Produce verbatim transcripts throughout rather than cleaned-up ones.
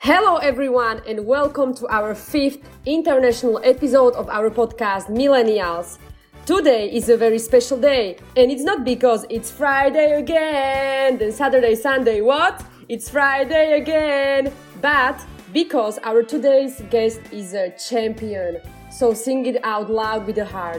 Hello everyone and welcome to our fifth international episode of our podcast Millennials. Today is a very special day and it's not because it's Friday again, then Saturday, Sunday, what? It's Friday again, but because our today's guest is a champion. So sing it out loud with the heart.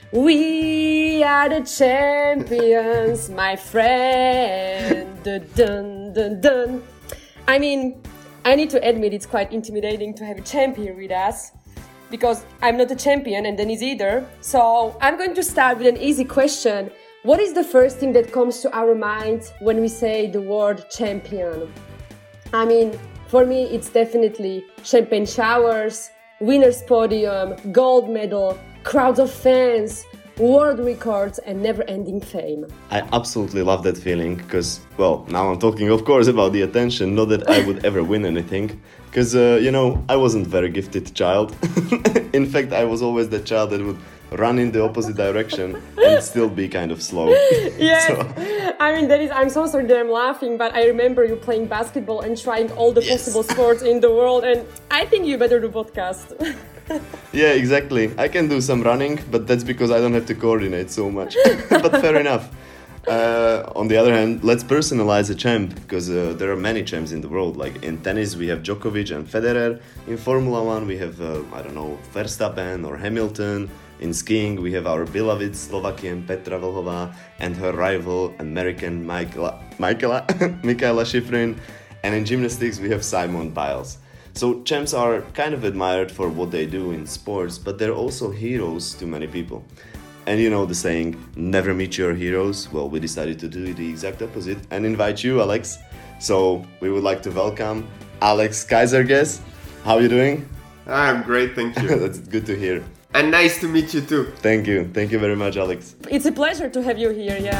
We are the champions, my friend. Dun, dun, dun, dun. I mean, I need to admit it's quite intimidating to have a champion with us because I'm not a champion and Denise either. So I'm going to start with an easy question. What is the first thing that comes to our mind when we say the word champion? I mean, for me, it's definitely champagne showers, winner's podium, gold medal, crowds of fans, world records and never-ending fame. I absolutely love that feeling because, well, now I'm talking of course about the attention, not that I would ever win anything because, uh, you know, I wasn't a very gifted child. In fact, I was always the child that would run in the opposite direction and still be kind of slow. Yes, so. I mean, that is, I'm so sorry that I'm laughing, but I remember you playing basketball and trying all the yes. possible sports in the world, and I think you better do podcast. Yeah, exactly. I can do some running, but that's because I don't have to coordinate so much. But fair enough. Uh, on the other hand, let's personalize a champ, because uh, there are many champs in the world. Like in tennis, we have Djokovic and Federer. In Formula One, we have, uh, I don't know, Verstappen or Hamilton. In skiing, we have our beloved Slovakian Petra Vlhová and her rival American Michaela, Michaela, Mikaela Shiffrin. And in gymnastics, we have Simone Biles. So champs are kind of admired for what they do in sports, but they're also heroes to many people. And you know the saying, never meet your heroes? Well, we decided to do the exact opposite and invite you, Alex. So we would like to welcome Alex Kaiserges. How are you doing? I'm great, thank you. That's good to hear. And nice to meet you too. Thank you. Thank you very much, Alex. It's a pleasure to have you here, yeah.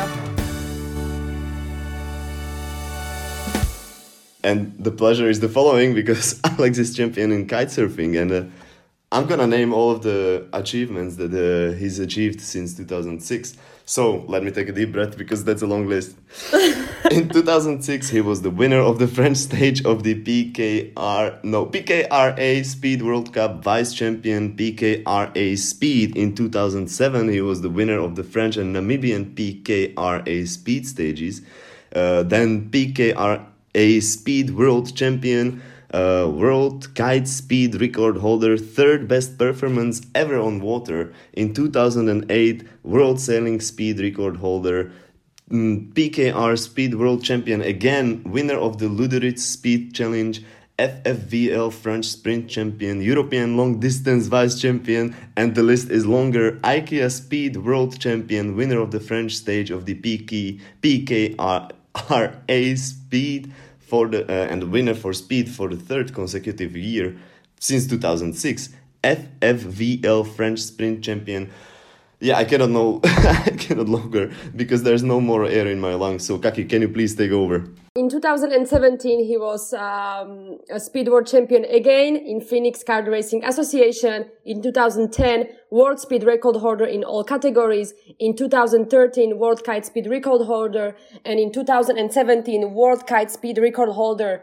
And the pleasure is the following because Alex is champion in kitesurfing and uh, I'm gonna name all of the achievements that uh, he's achieved since two thousand six. So let me take a deep breath because that's a long list. In two thousand six, he was the winner of the French stage of the P K R, no, P K R A Speed World Cup, vice champion P K R A Speed. In two thousand seven, he was the winner of the French and Namibian P K R A Speed stages. Uh, then P K R A Speed World Champion, uh, World Kite Speed Record Holder, third best performance ever on water. In two thousand eight, World Sailing Speed Record Holder, mm, P K R Speed World Champion, again winner of the Luderitz Speed Challenge, F F V L French Sprint Champion, European Long Distance Vice Champion, and the list is longer, IKEA Speed World Champion, winner of the French stage of the P K R A Speed for the uh, and winner for Speed for the third consecutive year since two thousand six, F F V L French Sprint Champion. Yeah, I cannot know, I cannot longer because there's no more air in my lungs. So Kaki, can you please take over? In two thousand seventeen, he was um, a Speed World Champion again in Phoenix Kart Racing Association. In two thousand ten, World Speed Record Holder in all categories. In two thousand thirteen, World Kite Speed Record Holder. And in two thousand seventeen, World Kite Speed Record Holder.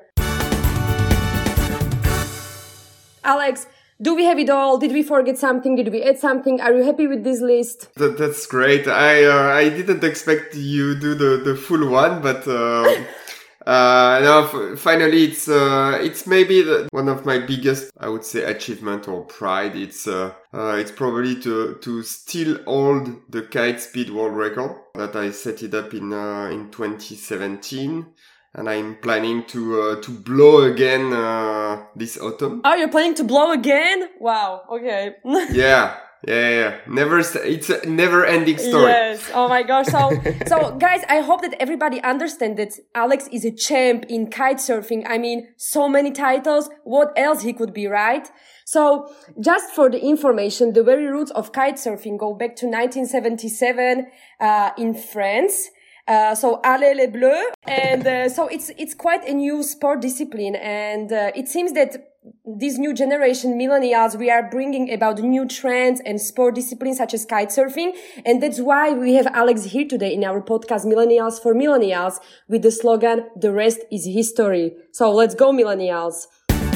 Alex, do we have it all? Did we forget something? Did we add something? Are you happy with this list? That, that's great. I uh, I didn't expect you do the, the full one, but uh, uh, no, f- finally it's uh, it's maybe the, one of my biggest, I would say, achievement or pride. It's uh, uh, it's probably to to still hold the kite speed world record that I set it up in uh, in twenty seventeen. And I'm planning to uh, to blow again uh, this autumn. Oh, you're planning to blow again? Wow. Okay. yeah, yeah, yeah. Never. It's a never-ending story. Yes. Oh my gosh. So, so guys, I hope that everybody understands that Alex is a champ in kite surfing. I mean, so many titles. What else he could be, right? So, just for the information, the very roots of kite surfing go back to nineteen seventy-seven uh, in France. Uh, so Allez les Bleus, and uh, so it's it's quite a new sport discipline, and uh, it seems that this new generation millennials, we are bringing about new trends and sport disciplines such as kitesurfing, and that's why we have Alex here today in our podcast Millennials for Millennials with the slogan "The rest is history." So let's go, millennials!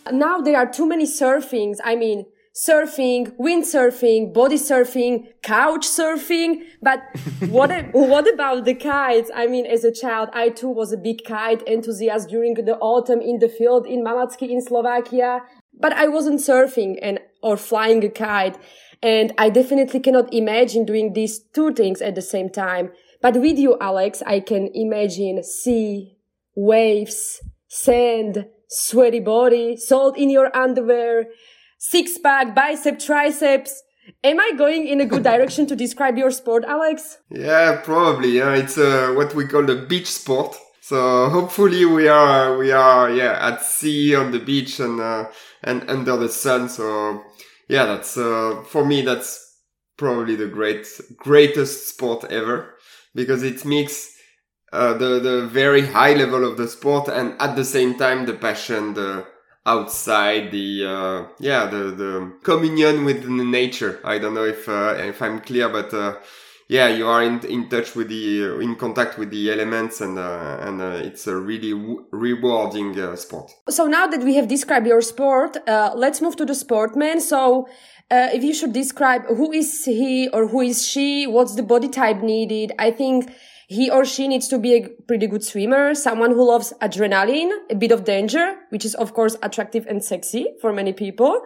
Now there are too many surfings. I mean, surfing, windsurfing, body surfing, couch surfing. But what what about the kites? I mean, as a child, I too was a big kite enthusiast during the autumn in the field in Malacky in Slovakia. But I wasn't surfing and or flying a kite. And I definitely cannot imagine doing these two things at the same time. But with you, Alex, I can imagine sea, waves, sand, sweaty body, salt in your underwear, six-pack, bicep, triceps. Am I going in a good direction to describe your sport, Alex? Yeah, probably. Yeah, it's uh, what we call a beach sport. So hopefully we are we are yeah at sea on the beach and uh, and under the sun. So yeah, that's uh, for me that's probably the great greatest sport ever, because it mixes uh, the the very high level of the sport and at the same time the passion, the outside, the uh, yeah the the communion with the nature. I don't know if uh, if I'm clear, but uh, yeah, you are in in touch with the in contact with the elements, and uh, and uh, it's a really w- rewarding uh, sport. So now that we have described your sport, uh, let's move to the sportman. So uh, if you should describe who is he or who is she, what's the body type needed? I think he or she needs to be a pretty good swimmer, someone who loves adrenaline, a bit of danger, which is of course attractive and sexy for many people.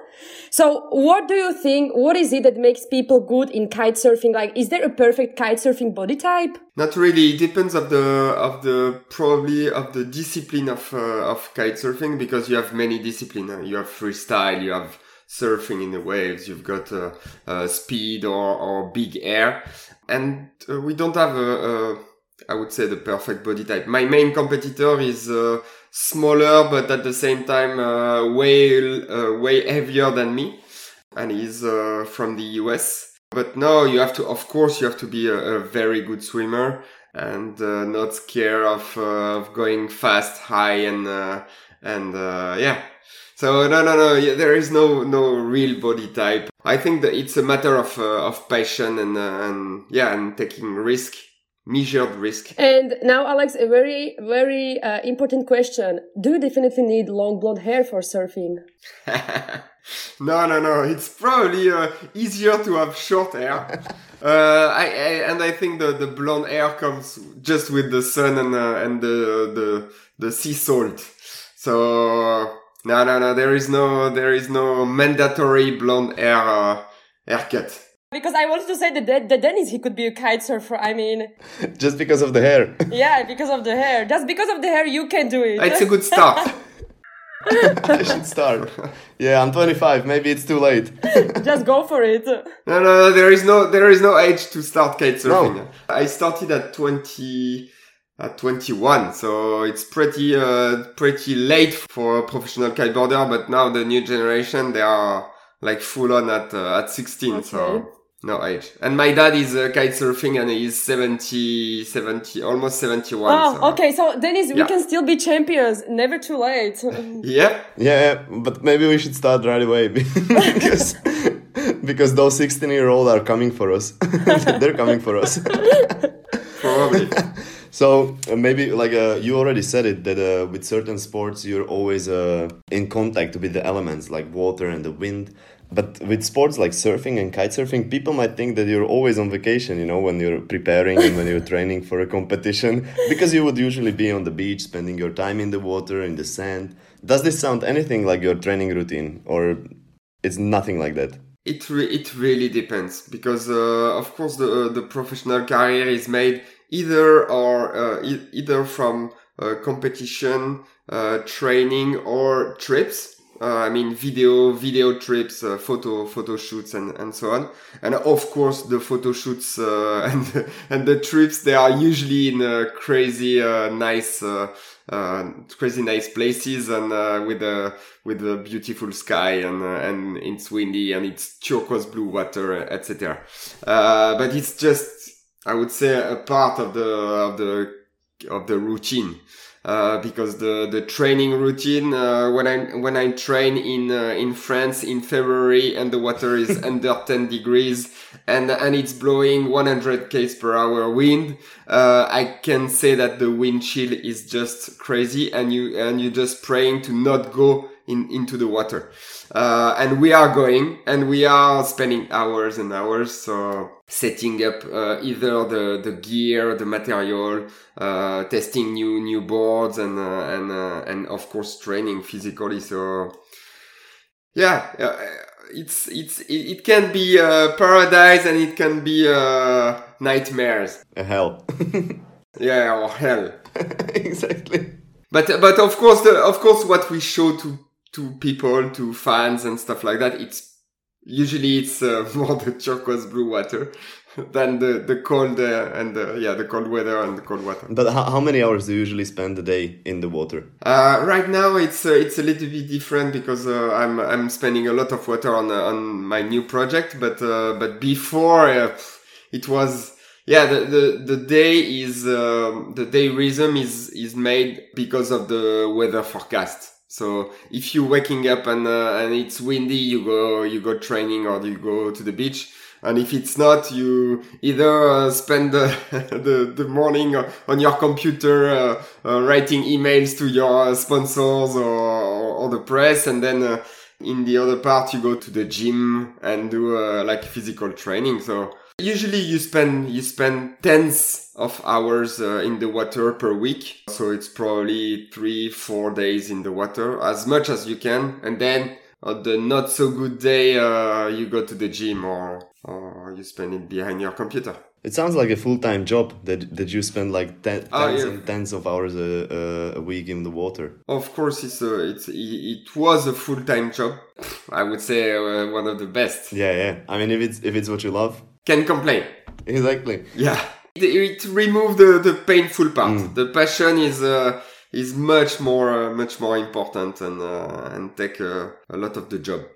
So what do you think, what is it that makes people good in kite surfing? Like, is there a perfect kite surfing body type? Not really. It depends of the, of the, probably of the discipline of, uh, of kite surfing, because you have many disciplines. You have freestyle, you have surfing in the waves, you've got uh, uh, speed or, or big air. And uh, we don't have a, a, I would say, the perfect body type. My main competitor is uh, smaller, but at the same time uh, way uh, way heavier than me, and he's uh, from the U S. But no, you have to, of course, you have to be a, a very good swimmer and uh, not scared of uh, of going fast, high, and uh, and uh, yeah. So no, no, no. Yeah, there is no no real body type. I think that it's a matter of uh, of passion and uh, and yeah, and taking risk, measured risk. And now, Alex, a very very uh, important question: do you definitely need long blonde hair for surfing? No, no, no. It's probably uh, easier to have short hair. uh, I, I and I think the, the blonde hair comes just with the sun and uh, and the the the sea salt. So. No, no, no. There is no, there is no mandatory blonde hair uh, haircut. Because I wanted to say that, that, that Dennis, he could be a kite surfer. I mean, just because of the hair. Yeah, because of the hair. Just because of the hair, you can do it. It's a good start. I should start. Yeah, I'm twenty-five. Maybe it's too late. Just go for it. No, no, no. There is no, there is no age to start kite surfing. No. I started at twenty. At twenty-one, so it's pretty uh, pretty late for a professional kiteboarder. But now the new generation, they are like full on at uh, at sixteen, okay. So no age. And my dad is uh, kite surfing, and he's seventy, seventy, almost seventy-one. Oh, so. Okay. So Dennis, yeah. We can still be champions. Never too late. Yeah. Yeah, but maybe we should start right away because because those sixteen-year-olds are coming for us. They're coming for us. Probably. So uh, maybe like uh, you already said it, that uh, with certain sports you're always uh, in contact with the elements like water and the wind. But with sports like surfing and kite surfing, people might think that you're always on vacation, you know, when you're preparing and when you're training for a competition, because you would usually be on the beach, spending your time in the water, in the sand. Does this sound anything like your training routine, or it's nothing like that? It re- it really depends, because uh, of course the uh, the professional career is made either or uh, e- either from uh, competition, uh, training, or trips. Uh, I mean, video, video trips, uh, photo, photo shoots, and, and so on. And of course, the photo shoots, uh, and, the, and the trips, they are usually in uh, crazy, uh, nice, uh, uh, crazy nice places, and, uh, with a, with a beautiful sky, and, uh, and it's windy, and it's turquoise blue water, et cetera. Uh, but it's just, I would say, a part of the, of the, of the routine. Uh, because the, the training routine, uh, when I, when I train in, uh, in France in February and the water is under ten degrees and, and it's blowing one hundred kilometers per hour wind, uh, I can say that the wind chill is just crazy, and you, and you're just praying to not go in, into the water. Uh, and we are going and we are spending hours and hours. So setting up, uh, either the, the gear, the material, uh, testing new, new boards and, uh, and, uh, and of course training physically. So yeah, uh, it's, it's, it, it can be uh, paradise and it can be uh, nightmares. A hell. Yeah, or hell. Exactly. But but of course, the, of course, what we show to to people, to fans and stuff like that, it's usually it's uh, more the turquoise blue water than the the cold uh, and the, yeah the cold weather and the cold water. But how, how many hours do you usually spend a day in the water? Uh, right now, it's uh, it's a little bit different because uh, I'm I'm spending a lot of water on uh, on my new project. But uh, but before uh, it was. Yeah, the, the, the day is, um, the day rhythm is, is made because of the weather forecast. So if you're waking up and, uh, and it's windy, you go, you go training or you go to the beach. And if it's not, you either uh, spend the, the, the morning on your computer, uh, uh, writing emails to your sponsors or, or, or the press. And then, uh, in the other part, you go to the gym and do, uh, like physical training. So, usually you spend, you spend tens of hours uh, in the water per week. So it's probably three, four days in the water, as much as you can. And then on the not so good day, uh, you go to the gym or, or you spend it behind your computer. It sounds like a full-time job that that you spend like ten, Oh, tens yeah. and tens of hours a, a, a week in the water. Of course, it's a, it's, it, it was a full-time job. I would say uh, one of the best. Yeah, yeah. I mean, if it's if it's what you love. Can complain. Exactly. Yeah. It, it removed the, the painful part. Mm. The passion is uh, is much more uh, much more important and uh, and take uh, a lot of the job.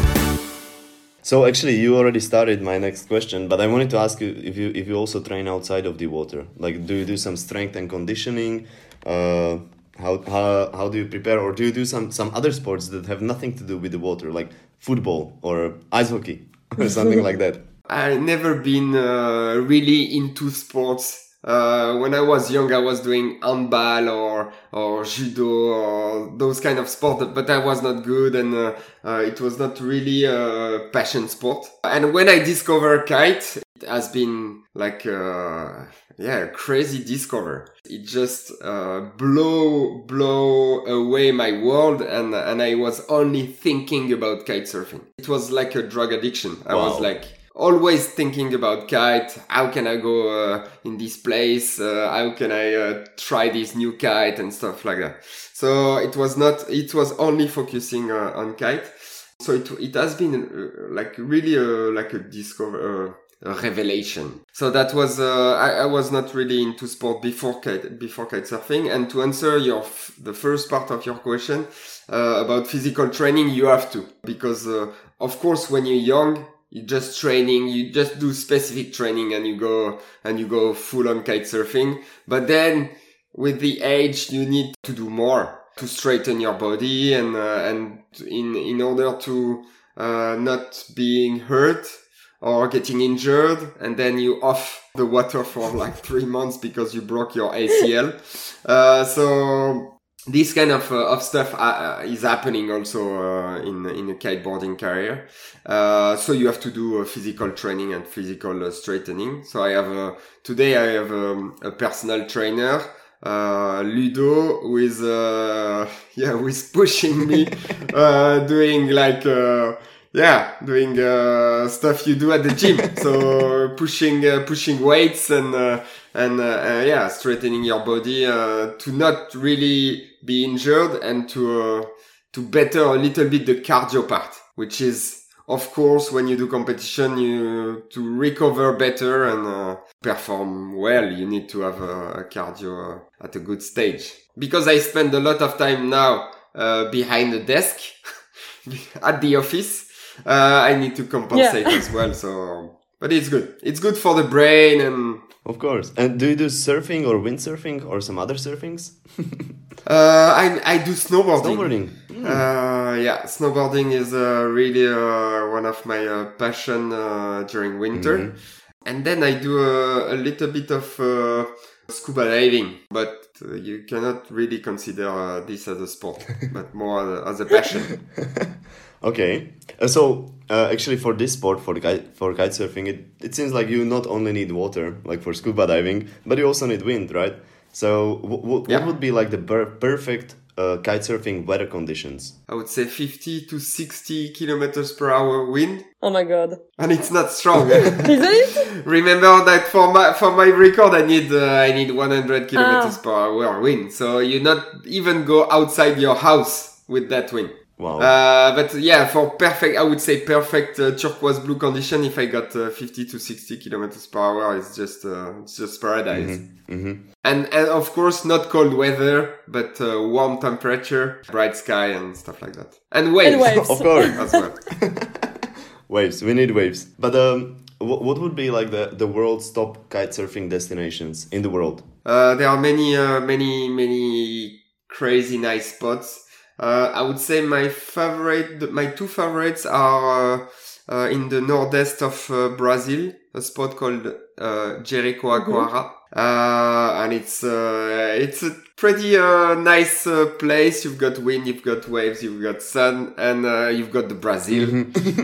So actually, you already started my next question, but I wanted to ask you if you if you also train outside of the water. Like, do you do some strength and conditioning? Uh, how how how do you prepare, or do you do some some other sports that have nothing to do with the water, like football or ice hockey or something like that? I never been uh, really into sports. Uh, when I was young, I was doing handball or or judo or those kind of sport, but I was not good, and uh, uh, it was not really a passion sport. And when I discovered kite, it has been like uh, yeah, a crazy discover. It just uh, blow blow away my world, and and I was only thinking about kite surfing. It was like a drug addiction. I Wow. was like. Always thinking about kite. How can I go uh, in this place? Uh, how can I uh, try this new kite and stuff like that? So it was not. It was only focusing uh, on kite. So it it has been uh, like really a, like a discover. Uh, a revelation. So that was uh, I, I was not really into sport before kite before kite surfing. And to answer your f- the first part of your question uh, about physical training, you have to, because uh, of course when you're young, you just training, you just do specific training and you go, and you go full on kite surfing. But then with the age, you need to do more to straighten your body and, uh, and in, in order to, uh, not being hurt or getting injured. And then you off the water for like three months because you broke your A C L. Uh, so, this kind of uh, of stuff uh, is happening also uh, in in a kiteboarding career. Uh, so you have to do uh, physical training and physical uh, straightening. So I have uh, today I have um, a personal trainer, uh, Ludo, who is uh, yeah, who is pushing me, uh, doing like uh, yeah, doing uh, stuff you do at the gym. So pushing uh, pushing weights and uh, and uh, uh, yeah, straightening your body uh, to not really be injured and to uh, to better a little bit the cardio part, which is of course when you do competition, you to recover better and uh, perform well, you need to have a, a cardio uh, at a good stage. Because I spend a lot of time now uh, behind the desk at the office, uh, I need to compensate Yeah. as well. So, but it's good. It's good for the brain and. Of course. And do you do surfing or windsurfing or some other surfings? Uh, I I do snowboarding. Snowboarding. Mm. Uh, yeah, snowboarding is uh, really uh, one of my uh, passion uh, during winter. Mhm. And then I do uh, a little bit of uh, scuba diving, but uh, you cannot really consider uh, this as a sport, but more as a passion. Okay, uh, so uh, actually for this sport, for the kite, for kite surfing, it, it seems like you not only need water, like for scuba diving, but you also need wind, right? So w- w- Yeah. what would be like the per- perfect uh, kite surfing weather conditions? I would say fifty to sixty kilometers per hour wind, Oh my god. and it's not strong. Isn't it? Remember that for my for my record, I need uh, I need one hundred kilometers Ah. per hour wind. So you not even go outside your house with that wind. Wow. Uh, but yeah, for perfect, I would say perfect uh, turquoise blue condition. If I got uh, fifty to sixty kilometers per hour, it's just uh, it's just paradise. hmm And and of course, not cold weather, but uh, warm temperature, bright sky, and stuff like that. And waves, And waves. Of course. as well. Waves, we need waves. But um, w- what would be like the, the world's top kite surfing destinations in the world? Uh, there are many, uh, many, many crazy nice spots. Uh, I would say my favorite, my two favorites are uh, uh, in the northeast of uh, Brazil, a spot called uh, Jericoacoara. Uh, and it's, uh, it's a pretty, uh, nice, uh, place. You've got wind, you've got waves, you've got sun, and, uh, you've got the Brazil,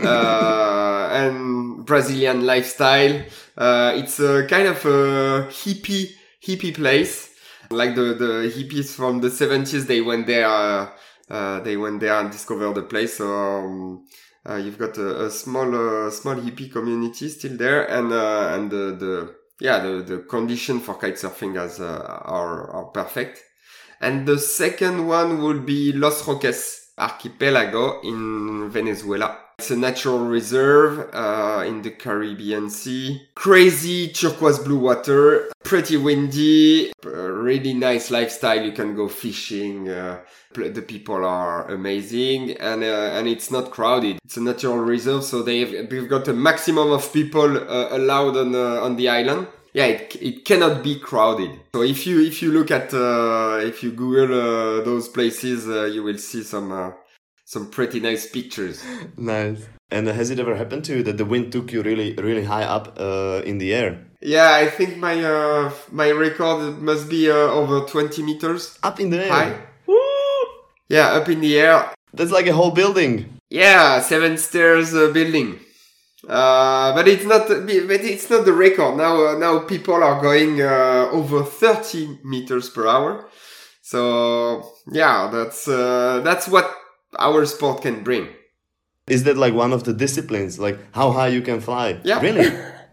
uh, and Brazilian lifestyle. Uh, it's a kind of a hippie, hippie place. Like the, the hippies from the seventies, they went there, uh, uh, they went there and discovered the place. So, um, uh, you've got a, a small, uh, small hippie community still there, and, uh, and the, the, yeah, the, the condition for kite surfing as, uh, are, are perfect. And the second one would be Los Roques Archipelago in Venezuela. It's a natural reserve, uh, in the Caribbean Sea. Crazy turquoise blue water, pretty windy, uh, really nice lifestyle. You can go fishing, uh, the people are amazing, and, uh, and it's not crowded. It's a natural reserve, so they've, they've got a maximum of people, uh, allowed on, uh, on the island. Yeah, it, it cannot be crowded. So if you, if you look at, uh, if you Google, uh, those places, uh, you will see some, uh, some pretty nice pictures. Nice. And has it ever happened to you that the wind took you really, really high up uh, in the air? Yeah, I think my uh, my record must be uh, over twenty meters Up in the air? high. Woo! Yeah, up in the air. That's like a whole building. Yeah, seven stairs uh, building. Uh, but it's not. But it's not the record. Now, uh, now people are going uh, over thirty meters per hour. So yeah, that's uh, that's what our sport can bring. Is that like one of the disciplines? Like how high you can fly? Yeah. Really?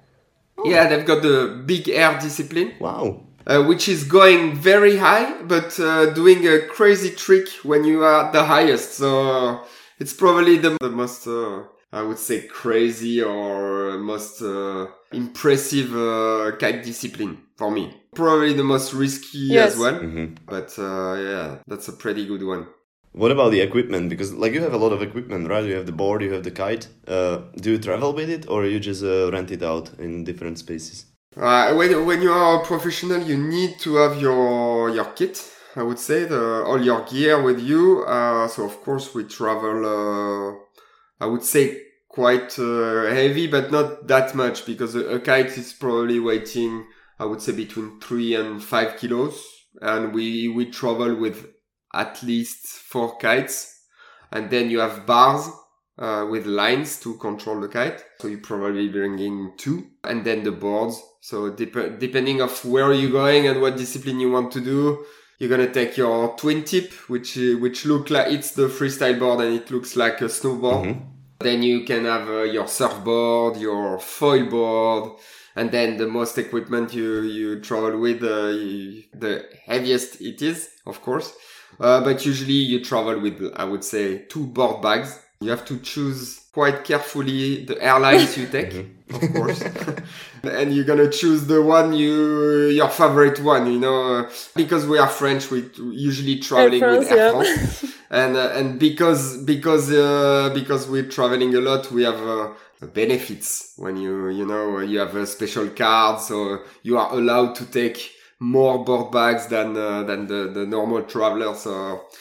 Yeah, they've got the big air discipline, Wow. uh, which is going very high, but uh, doing a crazy trick when you are at the highest. So uh, it's probably the, the most, uh, I would say, crazy or most uh, impressive uh, kite discipline for me. Probably the most risky Yes. as well. hmm But uh, yeah, that's a pretty good one. What about the equipment? Because like you have a lot of equipment, right? You have the board, you have the kite. Uh, do you travel with it or you just uh, rent it out in different spaces? Uh, when when you are a professional, you need to have your your kit. I would say the all your gear with you. Uh, so of course we travel. Uh, I would say quite uh, heavy, but not that much because a, a kite is probably weighing, I would say, between three and five kilos, and we we travel with at least four kites, and then you have bars uh, with lines to control the kite. So you probably bringing two, and then the boards. So dep- depending of where you're going and what discipline you want to do, you're gonna take your twin tip, which uh, which look like it's the freestyle board and it looks like a snowboard. Mm-hmm. Then you can have uh, your surfboard, your foil board, and then the most equipment you you travel with, uh, you, the heaviest it is, of course. Uh, but usually you travel with, I would say, two board bags. You have to choose quite carefully the airlines you take, of course. And you're gonna choose the one you, your favorite one, you know, because we are French, we usually traveling Air with France, Air yeah. France. and, uh, and because, because, uh, because we're traveling a lot, we have, uh, benefits when you, you know, you have a special card, so you are allowed to take more board bags than uh, than the, the normal traveler. So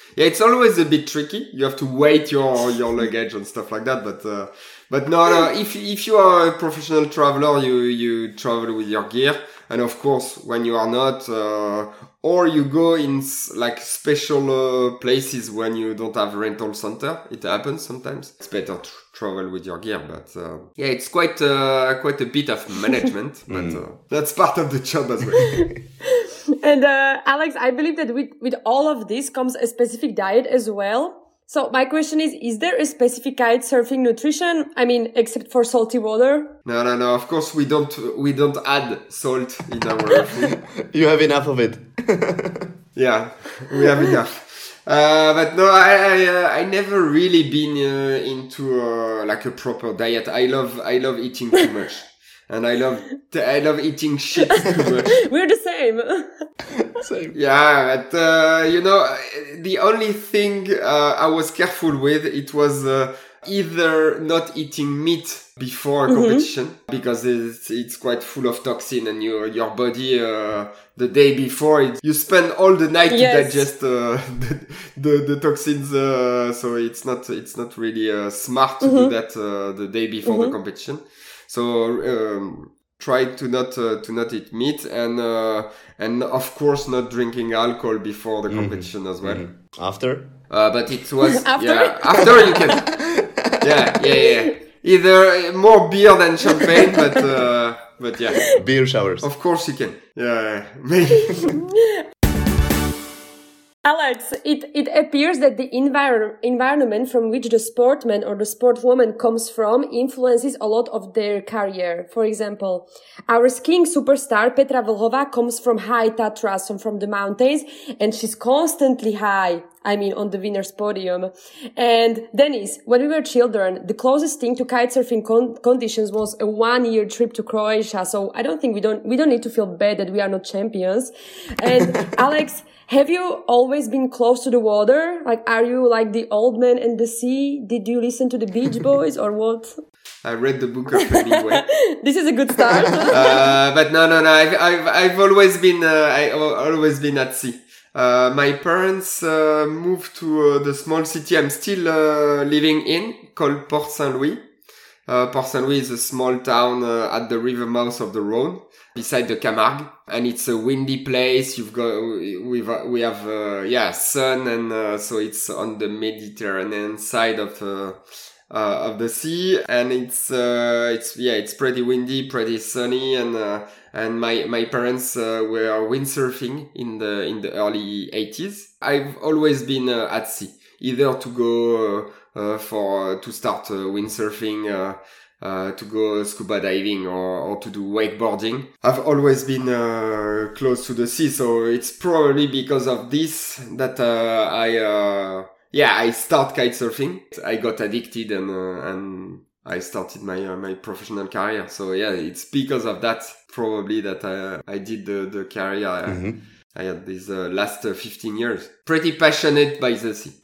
Yeah, it's always a bit tricky. You have to weight your your luggage and stuff like that. But uh, but no, no. If if you are a professional traveler, you you travel with your gear. And of course, when you are not, uh, or you go in like special uh, places when you don't have rental center, it happens sometimes. It's better to travel with your gear, but uh, yeah, it's quite uh, quite a bit of management, but uh, that's part of the job as well. And uh, Alex, I believe that with with all of this comes a specific diet as well. So my question is, is there a specific kite surfing nutrition? I mean, except for salty water? No, no, no. Of course, we don't we don't add salt in our food. You have enough of it. Yeah, we have enough. Uh, but no, I I, uh, I never really been uh, into uh, like a proper diet. I love I love eating too much, and I love I love eating shit too much. We're the same. Same. Yeah, but uh, you know, the only thing uh, I was careful with, it was uh, either not eating meat before a mm-hmm. competition, because it's, it's quite full of toxin, and your your body uh, the day before it, you spend all the night yes. to digest uh, the, the the toxins. Uh, so it's not it's not really uh, smart to mm-hmm. do that uh, the day before mm-hmm. the competition. So. Um, Try to not uh, to not eat meat, and uh, and of course not drinking alcohol before the competition mm-hmm. as well. Mm-hmm. After? Uh, but it was after? yeah after you can yeah yeah yeah either more beer than champagne, but uh, but yeah beer showers. Of course you can yeah maybe. Alex, it, it appears that the envir- environment from which the sportman or the sportwoman comes from influences a lot of their career. For example, our skiing superstar Petra Vlhová comes from high Tatras, so from the mountains, and she's constantly high. I mean, on the winner's podium. And Denis, when we were children, the closest thing to kitesurfing con- conditions was a one-year trip to Croatia. So I don't think we don't we don't need to feel bad that we are not champions. And Alex, have you always been close to the water? Like, are you like the old man and the sea? Did you listen to the Beach Boys or what? I read the book of Hemingway. This is a good start. uh, but no, no, no. I've I've, I've always been uh, I always been at sea. Uh, my parents uh, moved to uh, the small city I'm still uh, living in, called Port Saint-Louis. Uh, Port Saint-Louis is a small town uh, at the river mouth of the Rhône, beside the Camargue, and it's a windy place. You've got we've we have uh, yeah sun, and uh, so it's on the Mediterranean side of uh, uh, of the sea, and it's uh, it's yeah it's pretty windy, pretty sunny, and. Uh, And my, my parents uh, were windsurfing in the in the early eighties. I've always been uh, at sea, either to go uh, uh, for uh, to start uh, windsurfing, uh, uh, to go scuba diving, or, or to do wakeboarding. I've always been uh, close to the sea, so it's probably because of this that uh, I uh, yeah I start kitesurfing. I got addicted, and uh, and I started my uh, my professional career. So yeah, it's because of that. Probably that I, I did the, the career mm-hmm. I, I had these uh, last uh, fifteen years. Pretty passionate by the sea.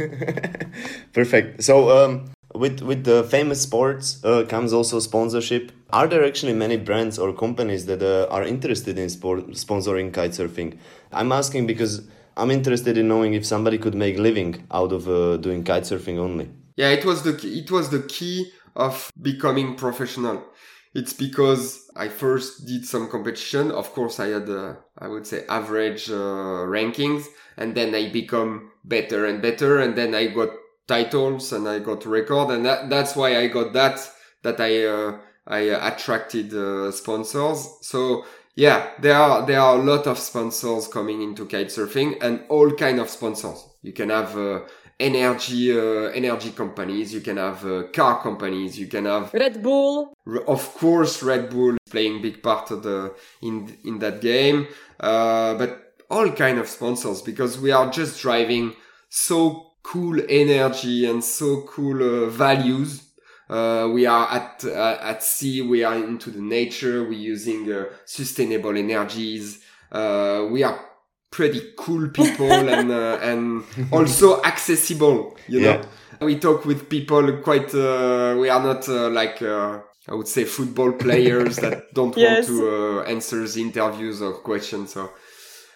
Perfect. So um, with with the famous sports uh, comes also sponsorship. Are there actually many brands or companies that uh, are interested in sport sponsoring kitesurfing? I'm asking because I'm interested in knowing if somebody could make living out of uh, doing kitesurfing only. Yeah, it was the it was the key of becoming professional. It's because I first did some competition. Of course, I had, uh, I would say, average uh, rankings. And then I become better and better. And then I got titles and I got record. And that, that's why I got that, that I uh, I attracted uh, sponsors. So, yeah, there are there are a lot of sponsors coming into kitesurfing, and all kind of sponsors. You can have... Uh, energy uh, energy companies, you can have uh, car companies, you can have Red Bull, of course Red Bull playing big part of the in in that game, uh, but all kind of sponsors, because we are just driving so cool energy and so cool uh, values. Uh, we are at uh, at sea, we are into the nature, we're using uh, sustainable energies, uh, we are pretty cool people and uh, and also accessible, you know. Yeah. We talk with people quite uh, we are not uh, like uh, I would say football players that don't yes. want to uh, answer the interviews or questions. So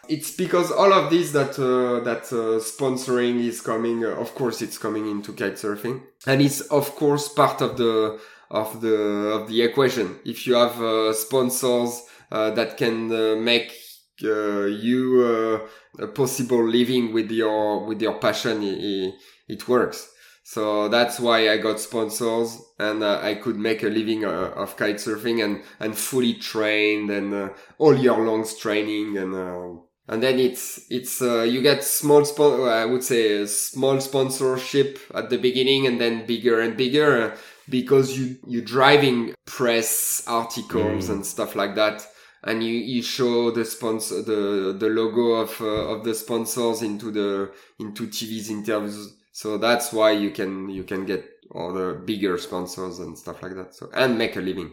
it's because all of this that uh, that uh, sponsoring is coming. Uh, of course, it's coming into kitesurfing, and it's of course part of the of the of the equation. If you have uh, sponsors uh, that can uh, make uh, you uh, a possible living with your with your passion, it, it works. So that's why I got sponsors, and uh, I could make a living uh, of kitesurfing and, and fully trained and uh, all year long training. And, uh, and then it's, it's, uh, you get small, spon- I would say a small sponsorship at the beginning and then bigger and bigger uh, because you, you're driving press articles mm. and stuff like that. And you, you show the sponsor, the, the logo of, uh, of the sponsors into the, into T V's interviews. So that's why you can you can get all the bigger sponsors and stuff like that. So and make a living.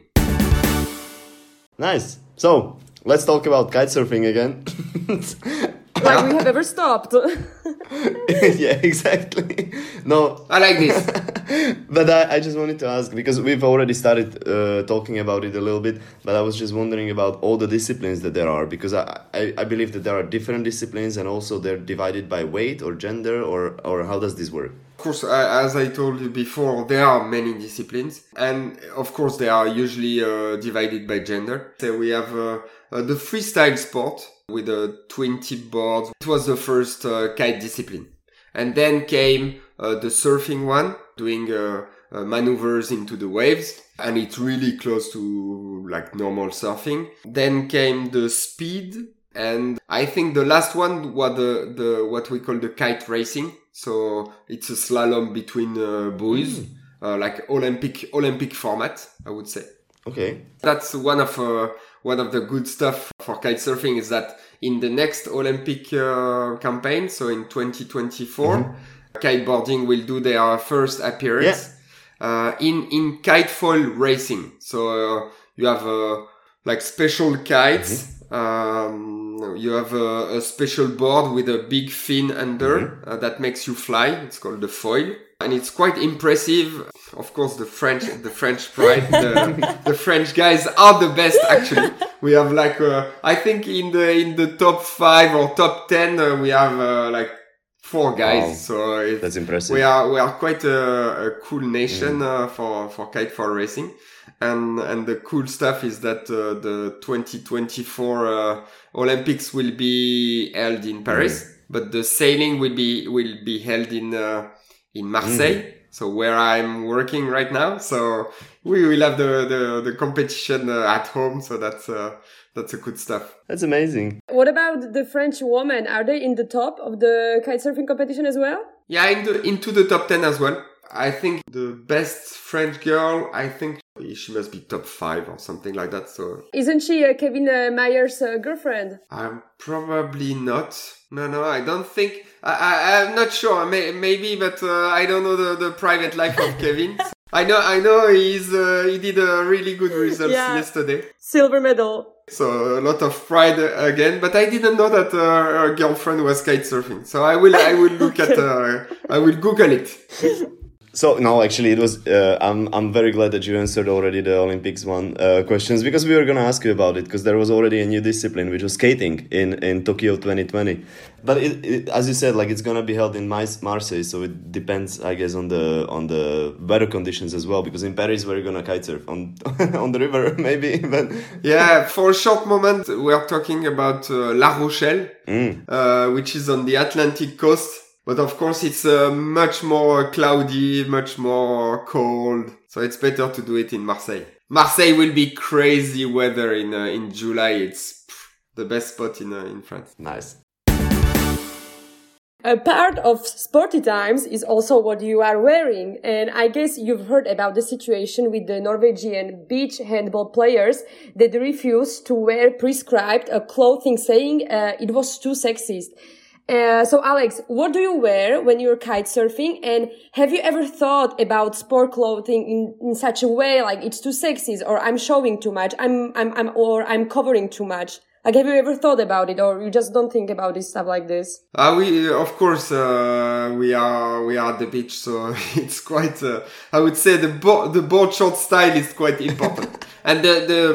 Nice. So let's talk about kitesurfing again. Like we have ever stopped. Yeah, exactly. No, I like this. But I, I just wanted to ask, because we've already started uh, talking about it a little bit, but I was just wondering about all the disciplines that there are, because I, I, I believe that there are different disciplines and also they're divided by weight or gender, or, or how does this work? Of course, uh, as I told you before, there are many disciplines, and of course they are usually uh, divided by gender. So we have uh, uh, the freestyle sport with a twenty boards. It was the first uh, kite discipline. And then came uh, the surfing one, doing uh, uh, maneuvers into the waves. And it's really close to like normal surfing. Then came the speed. And I think the last one was the, the what we call the kite racing. So it's a slalom between uh, buoys, mm. uh, like Olympic Olympic format, I would say. Okay. That's one of uh, one of the good stuff for kitesurfing is that in the next Olympic uh, campaign, so in twenty twenty-four, mm-hmm. kiteboarding will do their first appearance yeah. uh, in in kite foil racing. So uh, you have uh, like special kites. Mm-hmm. Um, you have a, a special board with a big fin under mm-hmm. uh, that makes you fly. It's called the foil. And it's quite impressive. Of course, the French, the French pride, the, the French guys are the best. Actually, we have like, uh, I think in the in the top five or top ten, uh, we have uh, like four guys. Wow. So it's, that's impressive. We are we are quite a, a cool nation mm. uh, for for kite foil racing. And and the cool stuff is that uh, the twenty twenty-four uh, Olympics will be held in Paris, mm. but the sailing will be will be held in. Uh, in Marseille, mm. so where I'm working right now. So we will have the, the, the competition uh, at home. So that's, uh, that's a good stuff. That's amazing. What about the French women? Are they in the top of the kitesurfing competition as well? Yeah, in the, into the top ten as well. I think the best French girl, I think she must be top five or something like that. So isn't she uh, Kevin uh, Mayer's uh, girlfriend? I'm probably not. No, no, I don't think. I, I, I'm not sure. May, maybe, but uh, I don't know the, the private life of Kevin. I know, I know he's uh, he did a really good results yeah. yesterday. Silver medal. So a lot of pride again, but I didn't know that uh, her girlfriend was kitesurfing. So I will, I will look at, uh, I will Google it. So no, actually, it was. Uh, I'm I'm very glad that you answered already the Olympics one uh, questions, because we were gonna ask you about it, because there was already a new discipline, which was skating in, in Tokyo twenty twenty. But it, it, as you said, like it's gonna be held in Marseille, so it depends, I guess, on the on the weather conditions as well. Because in Paris, we're gonna kitesurf on on the river, maybe. But yeah, for a short moment, we are talking about uh, La Rochelle, mm. uh, which is on the Atlantic coast. But of course, it's uh, much more cloudy, much more cold. So it's better to do it in Marseille. Marseille will be crazy weather in uh, in July. It's pff, the best spot in uh, in France. Nice. A part of Sporty Times is also what you are wearing. And I guess you've heard about the situation with the Norwegian beach handball players that refused to wear prescribed uh, clothing, saying uh, it was too sexist. Uh, so Alex, what do you wear when you're kitesurfing? And have you ever thought about sport clothing in, in such a way, like it's too sexy, or I'm showing too much, I'm, I'm, I'm, or I'm covering too much? Like, have you ever thought about it, or you just don't think about this stuff like this? Uh, we, of course, uh, we are, we are at the beach, so it's quite, uh, I would say the board, the board short style is quite important. And the, the,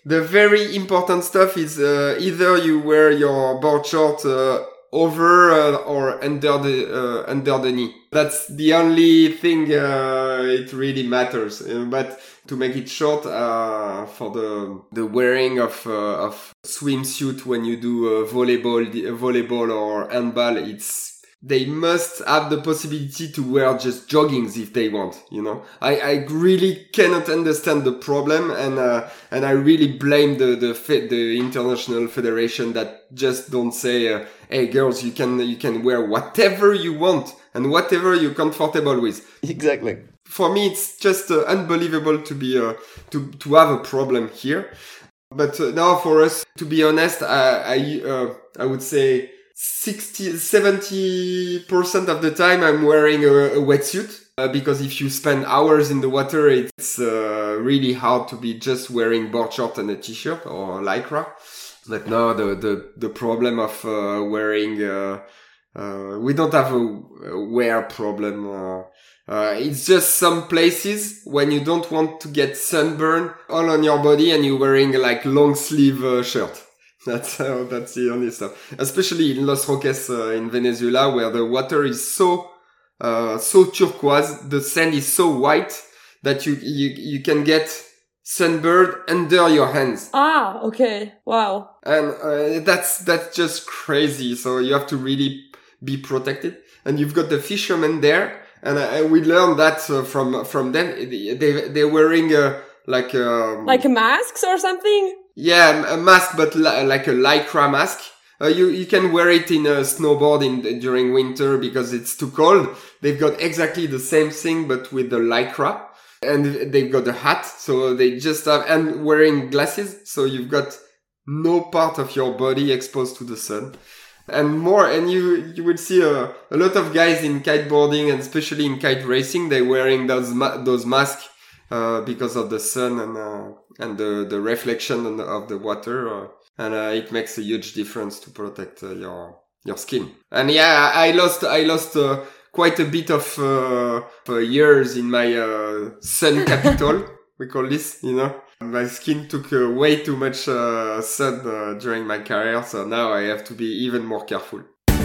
the very important stuff is uh, either you wear your board short uh, over uh, or under the uh, under the knee. That's the only thing uh, it really matters. Uh, but to make it short, uh, for the the wearing of uh, of swimsuit when you do uh, volleyball, volleyball or handball, it's they must have the possibility to wear just joggings if they want, you know. I, I really cannot understand the problem, and uh, and I really blame the the fe- the international federation that just don't say, uh, hey girls, you can you can wear whatever you want and whatever you're comfortable with. Exactly. For me, it's just uh, unbelievable to be uh, to to have a problem here. But uh, now, for us, to be honest, I I, uh, I would say sixty, seventy percent of the time I'm wearing a, a wetsuit. Uh, because if you spend hours in the water, it's uh, really hard to be just wearing board short and a t-shirt or lycra. But now the the the problem of uh, wearing uh, uh, we don't have a, a wear problem. Uh, uh, it's just some places when you don't want to get sunburn all on your body and you're wearing like long sleeve uh, shirt. That's uh, that's the only stuff. Especially in Los Roques uh, in Venezuela, where the water is so uh, so turquoise, the sand is so white that you you you can get sunburned under your hands. Ah, okay, wow. And uh, that's that's just crazy. So you have to really be protected. And you've got the fishermen there, and uh, we learned that uh, from from them. They they're wearing uh, like um, like masks or something. Yeah, a mask, but li- like a lycra mask. Uh, you you can wear it in a snowboard in during winter because it's too cold. They've got exactly the same thing, but with the lycra, and they've got a hat. So they just have and wearing glasses. So you've got no part of your body exposed to the sun, and more. And you you would see a a lot of guys in kiteboarding and especially in kite racing. They're wearing those ma- those masks. Uh, because of the sun and uh, and the, the reflection of the water, uh, and uh, it makes a huge difference to protect uh, your your skin. And yeah, I lost I lost uh, quite a bit of uh, uh, years in my uh, sun capital. We call this, you know. My skin took uh, way too much uh, sun uh, during my career, so now I have to be even more careful.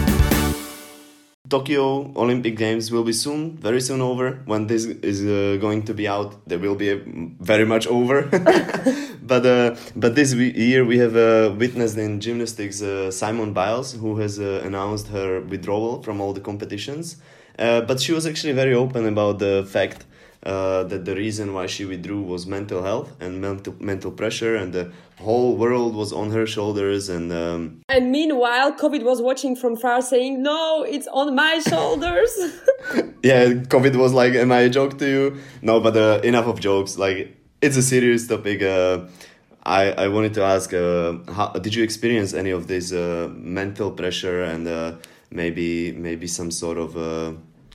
Tokyo Olympic Games will be soon, very soon over. When this is uh, going to be out, they will be uh, very much over. but uh, but this we- year we have uh, witnessed in gymnastics uh, Simone Biles, who has uh, announced her withdrawal from all the competitions. Uh, but she was actually very open about the fact uh, that the reason why she withdrew was mental health and mental mental pressure, and the whole world was on her shoulders. And um, and meanwhile, COVID was watching from far, saying, "No, it's on my shoulders." yeah, COVID was like, "Am I a joke to you?" No, but uh, enough of jokes. Like, it's a serious topic. Uh, I I wanted to ask, uh, how did you experience any of this uh, mental pressure and uh, maybe maybe some sort of uh,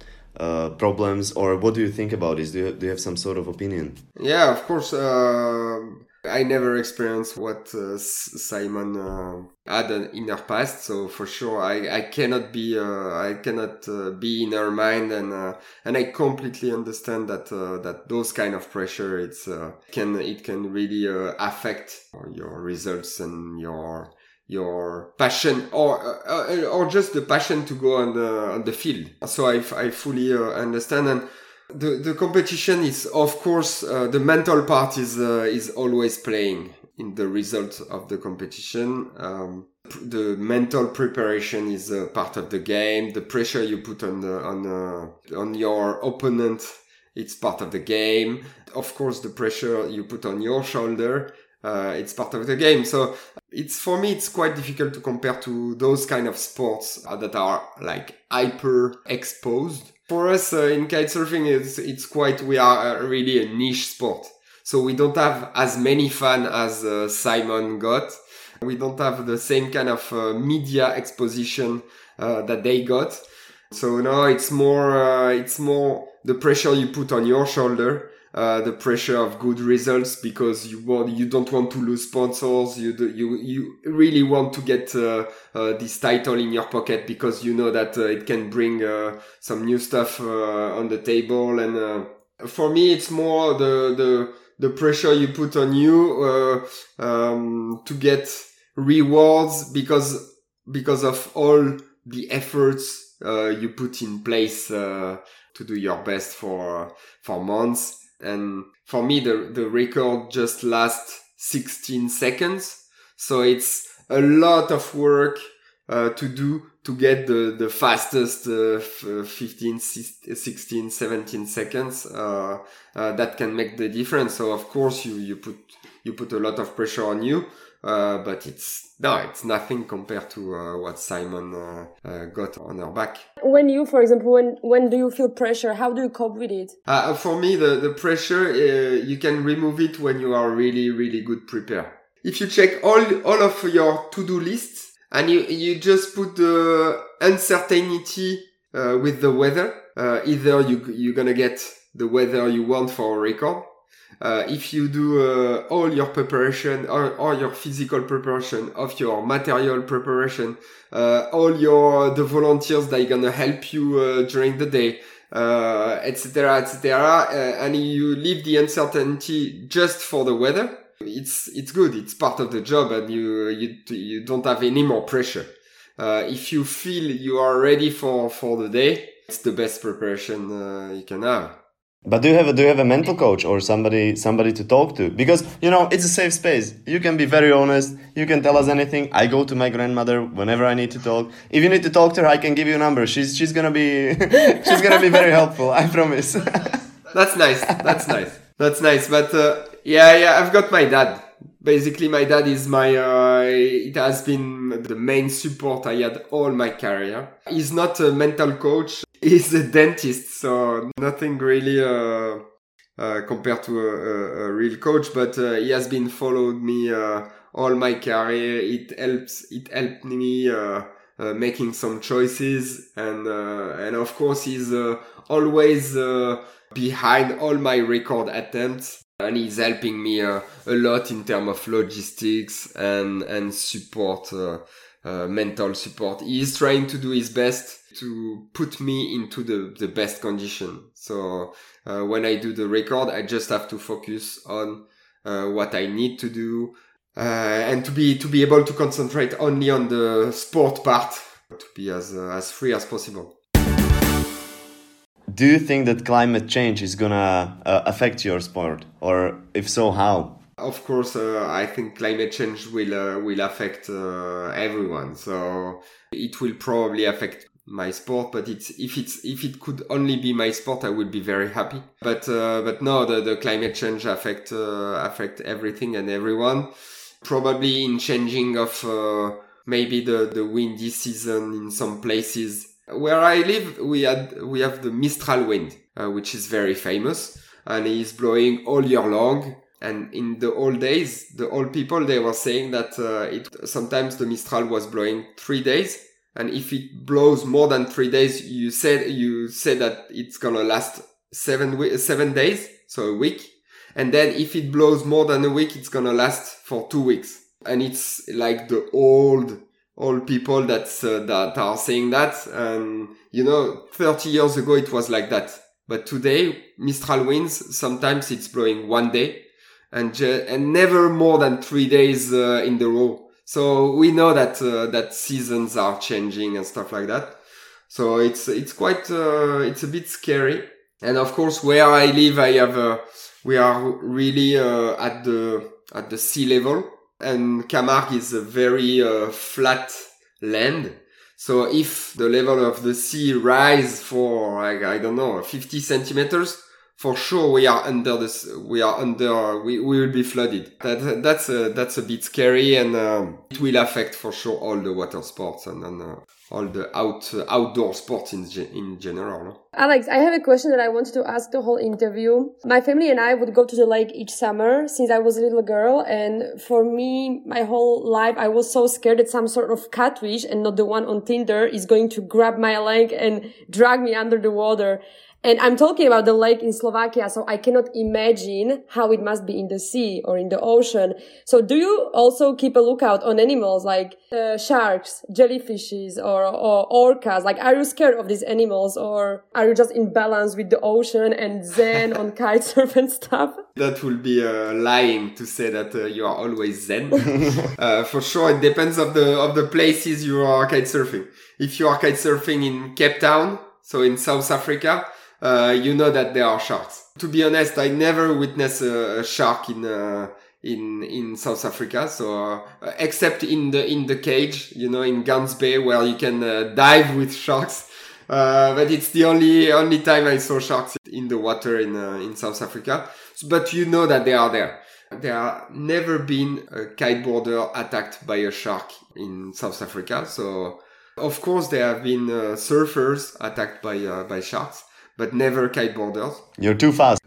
uh, problems, or what do you think about this? Do you, do you have some sort of opinion? Yeah, of course. Uh, I never experienced what uh, Simon uh, had in her past, so for sure I, I cannot be uh, I cannot uh, be in her mind, and uh, and I completely understand that uh, that those kind of pressure it's uh, can it can really uh, affect your results and your your passion, or uh, or just the passion to go on the on the field. So I, I fully uh, understand. And The the competition is, of course, uh, the mental part is uh, is always playing in the result of the competition. Um, the mental preparation is a part of the game. The pressure you put on the on uh, on your opponent, it's part of the game. Of course, the pressure you put on your shoulder, uh, it's part of the game. So it's for me, it's quite difficult to compare to those kind of sports uh, that are like hyper exposed. For us uh, in kitesurfing, it's, it's quite, we are uh, really a niche sport. So we don't have as many fans as uh, Simon got. We don't have the same kind of uh, media exposition uh, that they got. So no, it's more, uh, it's more the pressure you put on your shoulder, uh, the pressure of good results, because you want, you don't want to lose sponsors. You do, you, you really want to get, uh, uh, this title in your pocket because you know that uh, it can bring, uh, some new stuff, uh, on the table. And, uh, for me, it's more the, the, the pressure you put on you, uh, um, to get rewards because, because of all the efforts, uh, you put in place, uh, to do your best for, for months. And for me, the, the record just lasts sixteen seconds. So it's a lot of work, uh, to do to get the, the fastest, uh, fifteen, sixteen, seventeen seconds, uh, uh, that can make the difference. So of course you, you put, you put a lot of pressure on you, uh, but it's, no, it's nothing compared to, uh, what Simon, uh, uh, got on her back. When you, for example, when, when do you feel pressure? How do you cope with it? Uh, for me, the, the pressure, uh, you can remove it when you are really, really good prepared. If you check all, all of your to-do lists, and you, you just put the uncertainty, uh, with the weather. Uh, either you, you're gonna get the weather you want for a record. Uh, if you do, uh, all your preparation or, or your physical preparation of your material preparation, uh, all your, the volunteers that are gonna help you, uh, during the day, uh, et cetera, et cetera, uh, and you leave the uncertainty just for the weather. It's, it's good. It's part of the job and you, you, you don't have any more pressure. Uh, if you feel you are ready for, for the day, it's the best preparation, uh, you can have. But do you have a, do you have a mental coach or somebody, somebody to talk to? Because, you know, it's a safe space. You can be very honest. You can tell us anything. I go to my grandmother whenever I need to talk. If you need to talk to her, I can give you a number. She's, she's gonna be, she's gonna be very helpful. I promise. That's nice. That's nice. That's nice. But, uh, yeah, yeah, I've got my dad. Basically, my dad is my, uh, it has been the main support I had all my career. He's not a mental coach. He's a dentist. So nothing really, uh, uh, compared to a, a, a real coach, but, uh, he has been followed me, uh, all my career. It helps, it helped me, uh, uh making some choices. And, uh, and of course, he's, uh, always, uh, behind all my record attempts. And he's helping me uh, a lot in terms of logistics and, and support, uh, uh, mental support. He's trying to do his best to put me into the, the best condition. So, uh, when I do the record, I just have to focus on, uh, what I need to do, uh, and to be, to be able to concentrate only on the sport part, to be as, uh, as free as possible. Do you think that climate change is gonna uh, affect your sport? Or if so, how? Of course, uh, I think climate change will uh, will affect uh, everyone. So it will probably affect my sport, but it's if it's if it could only be my sport, I would be very happy. But uh, but no, the, the climate change affect uh, affect everything and everyone. Probably in changing of uh, maybe the the windy season in some places. Where I live, we had, we have the Mistral wind, uh, which is very famous and it's blowing all year long. And in the old days, the old people, they were saying that, uh, it, sometimes the Mistral was blowing three days. And if it blows more than three days, you said, you said that it's gonna last seven, seven days. So a week. And then if it blows more than a week, it's gonna last for two weeks. And it's like the old, All people that's, uh, that are saying that. And, you know, thirty years ago, it was like that. But today, Mistral winds, sometimes it's blowing one day and, ju- and never more than three days, uh, in the row. So we know that, uh, that seasons are changing and stuff like that. So it's, it's quite, uh, it's a bit scary. And of course, where I live, I have, uh, we are really, uh, at the, at the sea level. And Camargue is a very uh, flat land. So if the level of the sea rise for, like, I don't know, fifty centimeters, for sure we are under this, we are under, we, we will be flooded. That, that's a, that's a bit scary and um, it will affect for sure all the water sports and, and uh, all the out, uh, outdoor sports in, in general. No? Alex, I have a question that I wanted to ask the whole interview. My family and I would go to the lake each summer since I was a little girl. And for me, my whole life, I was so scared that some sort of catfish and not the one on Tinder is going to grab my leg and drag me under the water. And I'm talking about the lake in Slovakia, so I cannot imagine how it must be in the sea or in the ocean. So do you also keep a lookout on animals like uh, sharks, jellyfishes, or, or orcas? Like, are you scared of these animals, or are you just in balance with the ocean and zen on kitesurf and stuff? That will be uh, lying to say that uh, you are always zen. uh, for sure, it depends of the of the places you are kitesurfing. If you are kitesurfing in Cape Town, so in South Africa, uh, you know that there are sharks. To be honest, I never witnessed a, a shark in uh, in in South Africa. So uh, except in the in the cage, you know, in Gans Bay, where you can uh, dive with sharks. Uh, but it's the only only time I saw sharks in the water in uh, in South Africa. But you know that they are there. There have never been a kiteboarder attacked by a shark in South Africa. So, of course, there have been uh, surfers attacked by uh, by sharks, but never kiteboarders. You're too fast.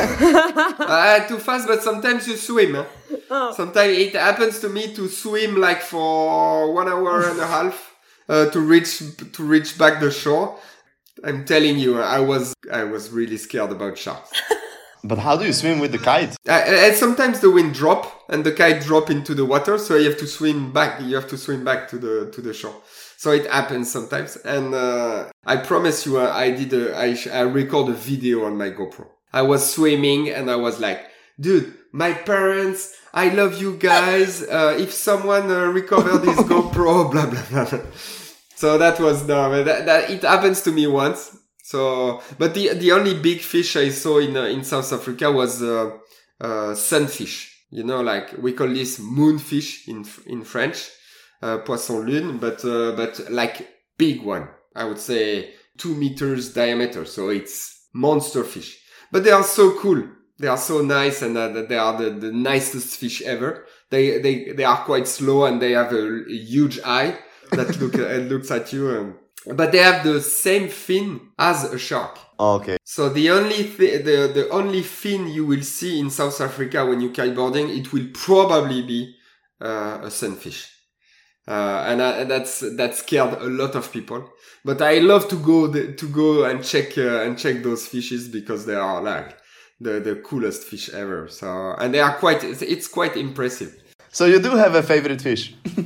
uh, too fast, but sometimes you swim. Huh? Oh. Sometimes it happens to me to swim like for one hour and a half uh, to reach to reach back the shore. I'm telling you, I was I was really scared about sharks. But how do you swim with the kite? Uh, and sometimes the wind drop and the kite drop into the water, so you have to swim back. You have to swim back to the to the shore. So it happens sometimes. And uh, I promise you, uh, I did a, I, I record a video on my GoPro. I was swimming and I was like, dude, my parents, I love you guys. Uh, if someone uh, recover this GoPro, blah blah blah. So that was no, that, that it happens to me once. So, but the the only big fish I saw in uh, in South Africa was uh, uh, sunfish. You know, like we call this moonfish in in French, uh, poisson lune, but uh, but like big one. I would say two meters diameter. So it's monster fish. But they are so cool. They are so nice, and uh, they are the, the nicest fish ever. They they they are quite slow, and they have a, a huge eye that look uh, looks at you. Um, But they have the same fin as a shark. Okay. So the only th- the the only fin you will see in South Africa when you're kiteboarding, it will probably be uh, a sunfish, uh, and I, that's that scared a lot of people. But I love to go the, to go and check uh, and check those fishes because they are like the the coolest fish ever. So and they are quite it's, it's quite impressive. So you do have a favorite fish?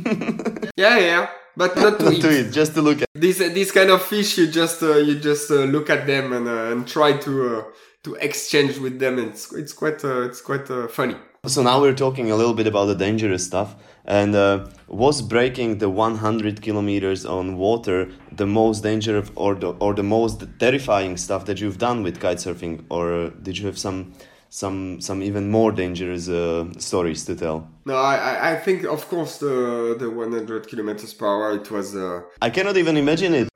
yeah, yeah. But not to, not eat. to eat, just to look at. This this kind of fish, you just uh, you just uh, look at them and uh, and try to uh, to exchange with them. And it's it's quite uh, it's quite uh, funny. So now we're talking a little bit about the dangerous stuff. And uh, was breaking the one hundred kilometers on water the most dangerous or the or the most terrifying stuff that you've done with kitesurfing, or did you have some? Some some even more dangerous uh, stories to tell? No, I I think of course the the one hundred kilometers per hour it was. Uh... I cannot even imagine it.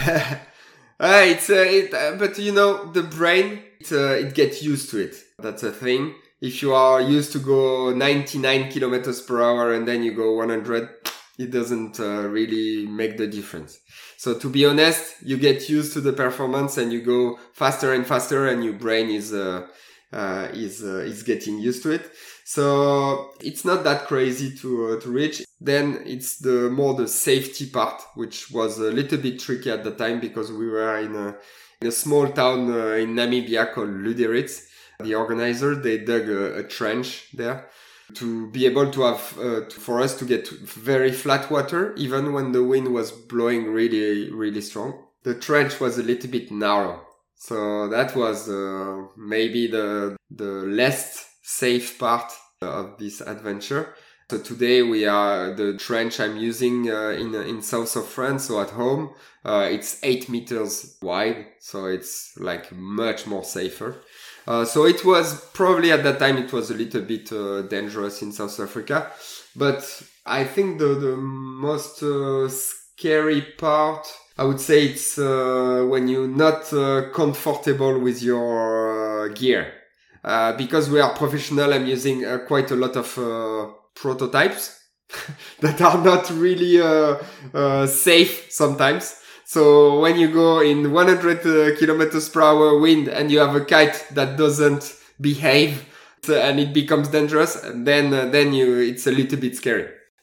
uh, it's uh, it, uh, but you know the brain it, uh, it gets used to it. That's a thing. If you are used to go ninety-nine kilometers per hour and then you go one hundred, it doesn't uh, really make the difference. So to be honest, you get used to the performance and you go faster and faster, and your brain is. Uh, Uh, is uh, is getting used to it, so it's not that crazy to uh, to reach. Then it's the more the safety part, which was a little bit tricky at the time because we were in a in a small town uh, in Namibia called Luderitz. The organizer they dug a, a trench there to be able to have uh, to, for us to get very flat water even when the wind was blowing really really strong. The trench was a little bit narrow. So that was uh, maybe the the less safe part of this adventure. So today we are the trench I'm using uh, in in south of France. So at home, uh, it's eight meters wide. So it's like much more safer. Uh, so it was probably at that time it was a little bit uh, dangerous in South Africa, but I think the the most uh, scary part. I would say it's uh, when you're not uh, comfortable with your uh, gear. Uh, because we are professional, I'm using uh, quite a lot of uh, prototypes that are not really uh, uh, safe sometimes. So when you go in one hundred uh, kilometers per hour wind and you have a kite that doesn't behave and it becomes dangerous, then uh, then you it's a little bit scary.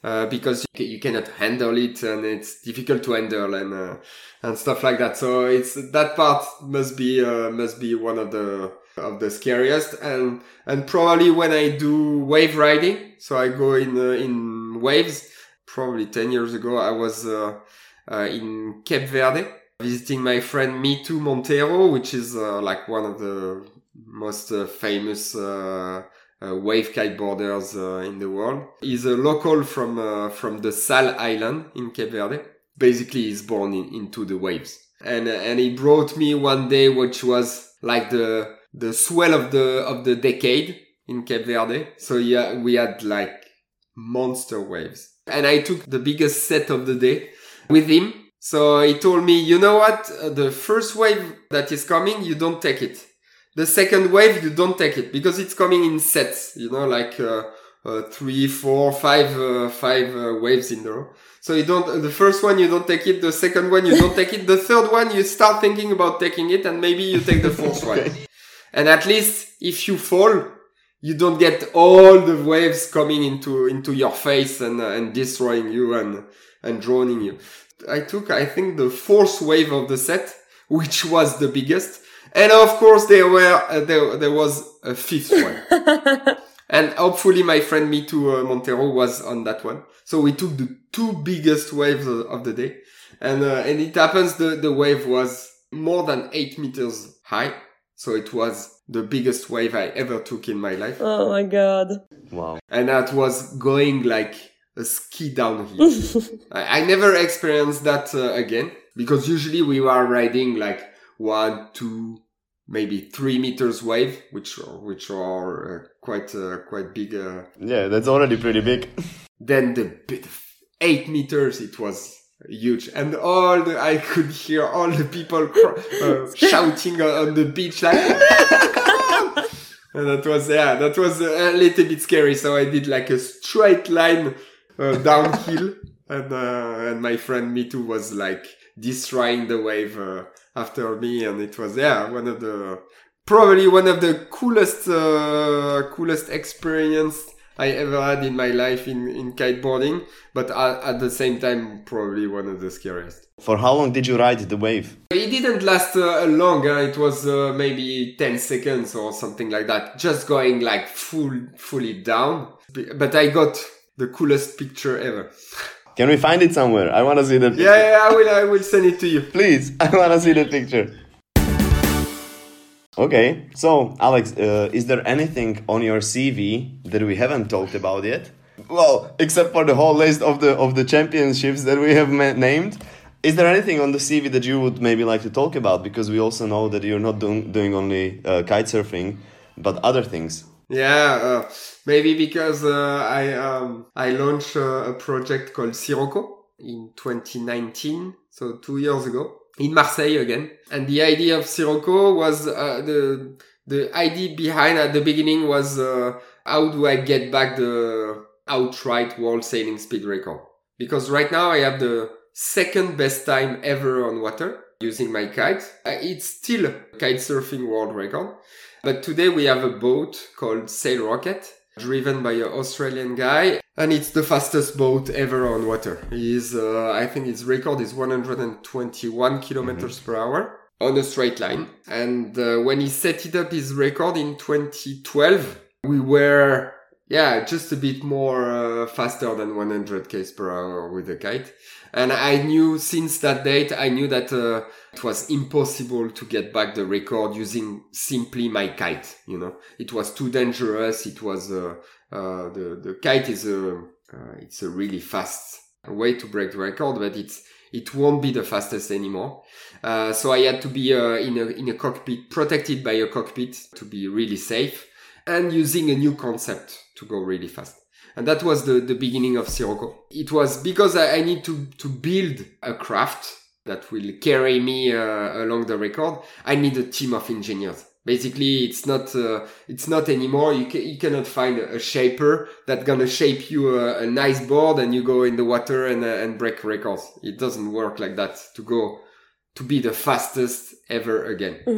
uh, because you, you cannot handle it and it's difficult to handle and uh, and stuff like that. So it's that part must be uh, must be one of the of the scariest. And and probably when I do wave riding, so I go in uh, in waves. Probably ten years ago, I was uh, uh, in Cape Verde visiting my friend Mitu Montero, which is uh, like one of the most uh, famous uh, uh, wave kiteboarders uh, in the world. He's a local from uh, from the Sal Island in Cape Verde. Basically, he's born in, into the waves, and uh, and he brought me one day, which was like the the swell of the of the decade in Cape Verde. So yeah, we had like monster waves. And I took the biggest set of the day with him. So he told me, you know what? Uh, the first wave that is coming, you don't take it. The second wave, you don't take it because it's coming in sets, you know, like uh, uh, three, four, five, uh, five uh, waves in a row. So you don't, uh, the first one, you don't take it. The second one, you don't take it. The third one, you start thinking about taking it and maybe you take the fourth one. And at least if you fall, you don't get all the waves coming into, into your face and, uh, and destroying you and, and drowning you. I took, I think, the fourth wave of the set, which was the biggest. And of course, there were, uh, there, there was a fifth one. And hopefully my friend Mitu uh, Montero was on that one. So we took the two biggest waves of, of the day. And, uh, and it happens the, the wave was more than eight meters high. So it was the biggest wave I ever took in my life. Oh my God. Wow. And that was going like a ski downhill. I, I never experienced that uh, again because usually we were riding like one, two, maybe three meters wave, which which are uh, quite uh, quite big. Uh, yeah, that's already pretty big. Then the bit eight meters, it was huge, and all the I could hear all the people cr- uh, shouting on the beach like. And that was yeah, that was a little bit scary. So I did like a straight line uh, downhill, and uh, and my friend Mitu was like destroying the wave uh, after me, and it was yeah one of the probably one of the coolest uh, coolest experience I ever had in my life in, in kiteboarding, but at, at the same time, probably one of the scariest. For how long did you ride the wave? It didn't last uh, long. Uh, it was uh, maybe ten seconds or something like that. Just going like full, fully down. But I got the coolest picture ever. Can we find it somewhere? I want to see the picture. Yeah, yeah, I will, I will send it to you. Please, I want to see the picture. Okay, so Alex, uh, is there anything on your C V that we haven't talked about yet? Well, except for the whole list of the of the championships that we have ma- named. Is there anything on the C V that you would maybe like to talk about? Because we also know that you're not doing doing only uh, kite surfing, but other things. Yeah, uh, maybe because uh, I um, I launched uh, a project called Sirocco in twenty nineteen, so two years ago. In Marseille again. And the idea of Sirocco was, uh, the, the idea behind at the beginning was, uh, how do I get back the outright world sailing speed record? Because right now I have the second best time ever on water using my kite. Uh, it's still a kite surfing world record. But today we have a boat called Sail Rocket, driven by an Australian guy. And it's the fastest boat ever on water. He's, uh, I think his record is one hundred twenty-one kilometers mm-hmm. per hour on a straight line. And uh, when he set it up, his record in twenty twelve, we were, yeah, just a bit more uh, faster than one hundred kilometers per hour with the kite. And I knew since that date, I knew that uh, it was impossible to get back the record using simply my kite. You know, it was too dangerous. It was, uh, Uh, the, the kite is a, uh, it's a really fast way to break the record, but it's, it won't be the fastest anymore. Uh, so I had to be, uh, in a, in a cockpit, protected by a cockpit to be really safe and using a new concept to go really fast. And that was the, the beginning of Sirocco. It was because I, I need to, to build a craft that will carry me, uh, along the record. I need a team of engineers. Basically, it's not, uh, it's not anymore. You ca- you cannot find a, a shaper that's gonna shape you a, a nice board and you go in the water and, uh, and break records. It doesn't work like that to go, to be the fastest ever again. Mm-hmm.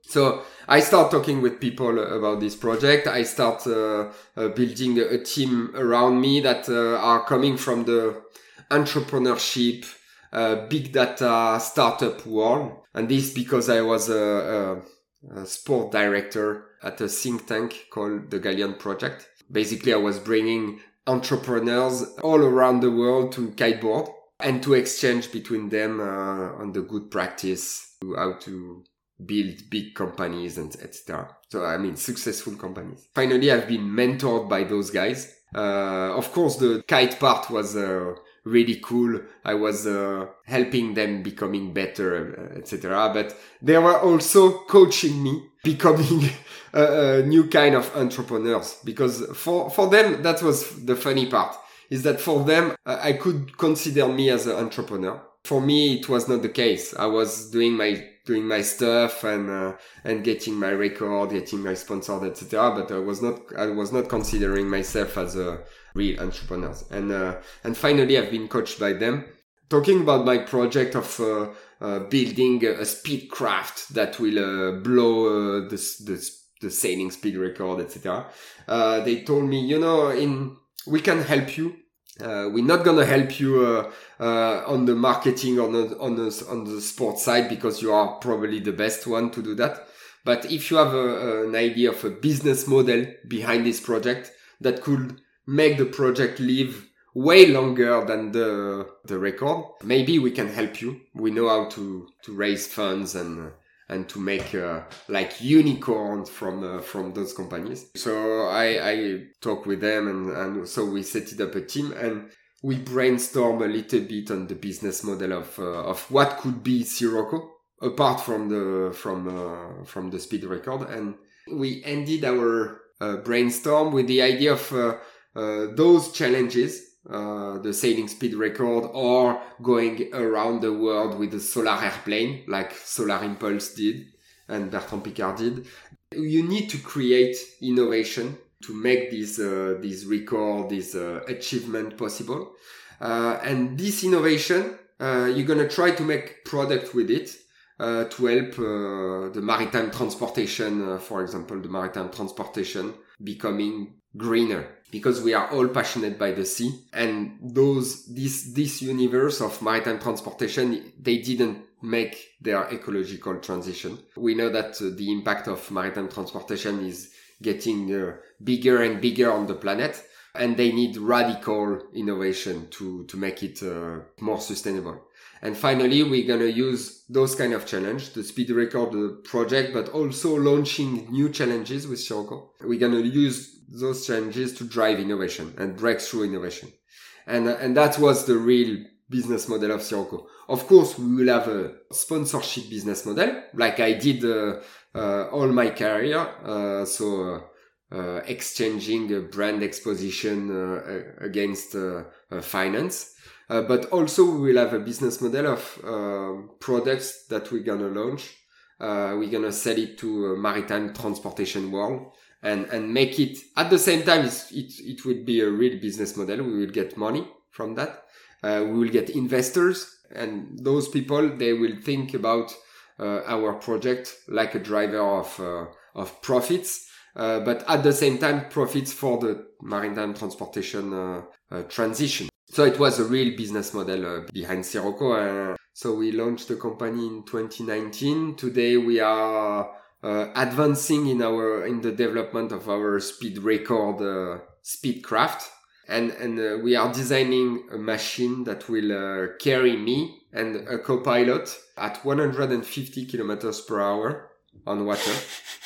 So I start talking with people about this project. I start uh, uh, building a, a team around me that uh, are coming from the entrepreneurship, uh, big data, startup world. And this because I was a, a, a sport director at a think tank called the Galleon Project. Basically, I was bringing entrepreneurs all around the world to kiteboard and to exchange between them uh, on the good practice, how to build big companies and et cetera. So, I mean, successful companies. Finally, I've been mentored by those guys. Uh, of course, the kite part was uh, really cool. I was uh, helping them becoming better, et cetera. But they were also coaching me becoming a, a new kind of entrepreneurs, because for, for them, that was the funny part, is that for them, I could consider me as an entrepreneur. For me, it was not the case. I was doing my doing my stuff and uh, and getting my record, getting my sponsors, et cetera. But I was not I was not considering myself as a real entrepreneur. And uh, and finally, I've been coached by them. Talking about my project of uh, uh, building a, a speed craft that will uh, blow uh, the, the the sailing speed record, et cetera. Uh, they told me, you know, in we can help you. Uh, we're not gonna help you uh, uh, on the marketing on the on the on the sports side because you are probably the best one to do that. But if you have a, an idea of a business model behind this project that could make the project live way longer than the the record, maybe we can help you. We know how to to raise funds and uh, and to make uh, like unicorns from uh, from those companies. So I I talk with them and and so we set it up a team and we brainstorm a little bit on the business model of uh, of what could be Sirocco apart from the from uh, from the speed record, and we ended our uh, brainstorm with the idea of uh, uh, those challenges. Uh, the sailing speed record or going around the world with a solar airplane like Solar Impulse did and Bertrand Piccard did. You need to create innovation to make this, uh, this record, this uh, achievement possible. Uh, and this innovation, uh, you're going to try to make product with it uh, to help uh, the maritime transportation, uh, for example, the maritime transportation becoming greener, because we are all passionate by the sea, and those this this universe of maritime transportation, they didn't make their ecological transition. We know that uh, the impact of maritime transportation is getting uh, bigger and bigger on the planet, and they need radical innovation to to make it uh, more sustainable. And finally, we're going to use those kind of challenge, the speed record the project, but also launching new challenges with Sirocco. We're going to use those challenges to drive innovation and breakthrough innovation. And, and that was the real business model of Sirocco. Of course, we will have a sponsorship business model, like I did uh, uh, all my career. Uh, so uh, uh, exchanging a brand exposition uh, against uh, uh, finance. Uh, but also we will have a business model of uh, products that we're going to launch. Uh, we're going to sell it to a maritime transportation world and, and make it at the same time. It's, it, it will be a real business model. We will get money from that. Uh, we will get investors, and those people, they will think about uh, our project like a driver of, uh, of profits. Uh, but at the same time, profits for the maritime transportation uh, uh, transition. So it was a real business model uh, behind Sirocco. Uh, so we launched the company in twenty nineteen. Today we are uh, advancing in our in the development of our speed record uh, speed craft, and and uh, we are designing a machine that will uh, carry me and a co-pilot at one hundred fifty kilometers per hour on water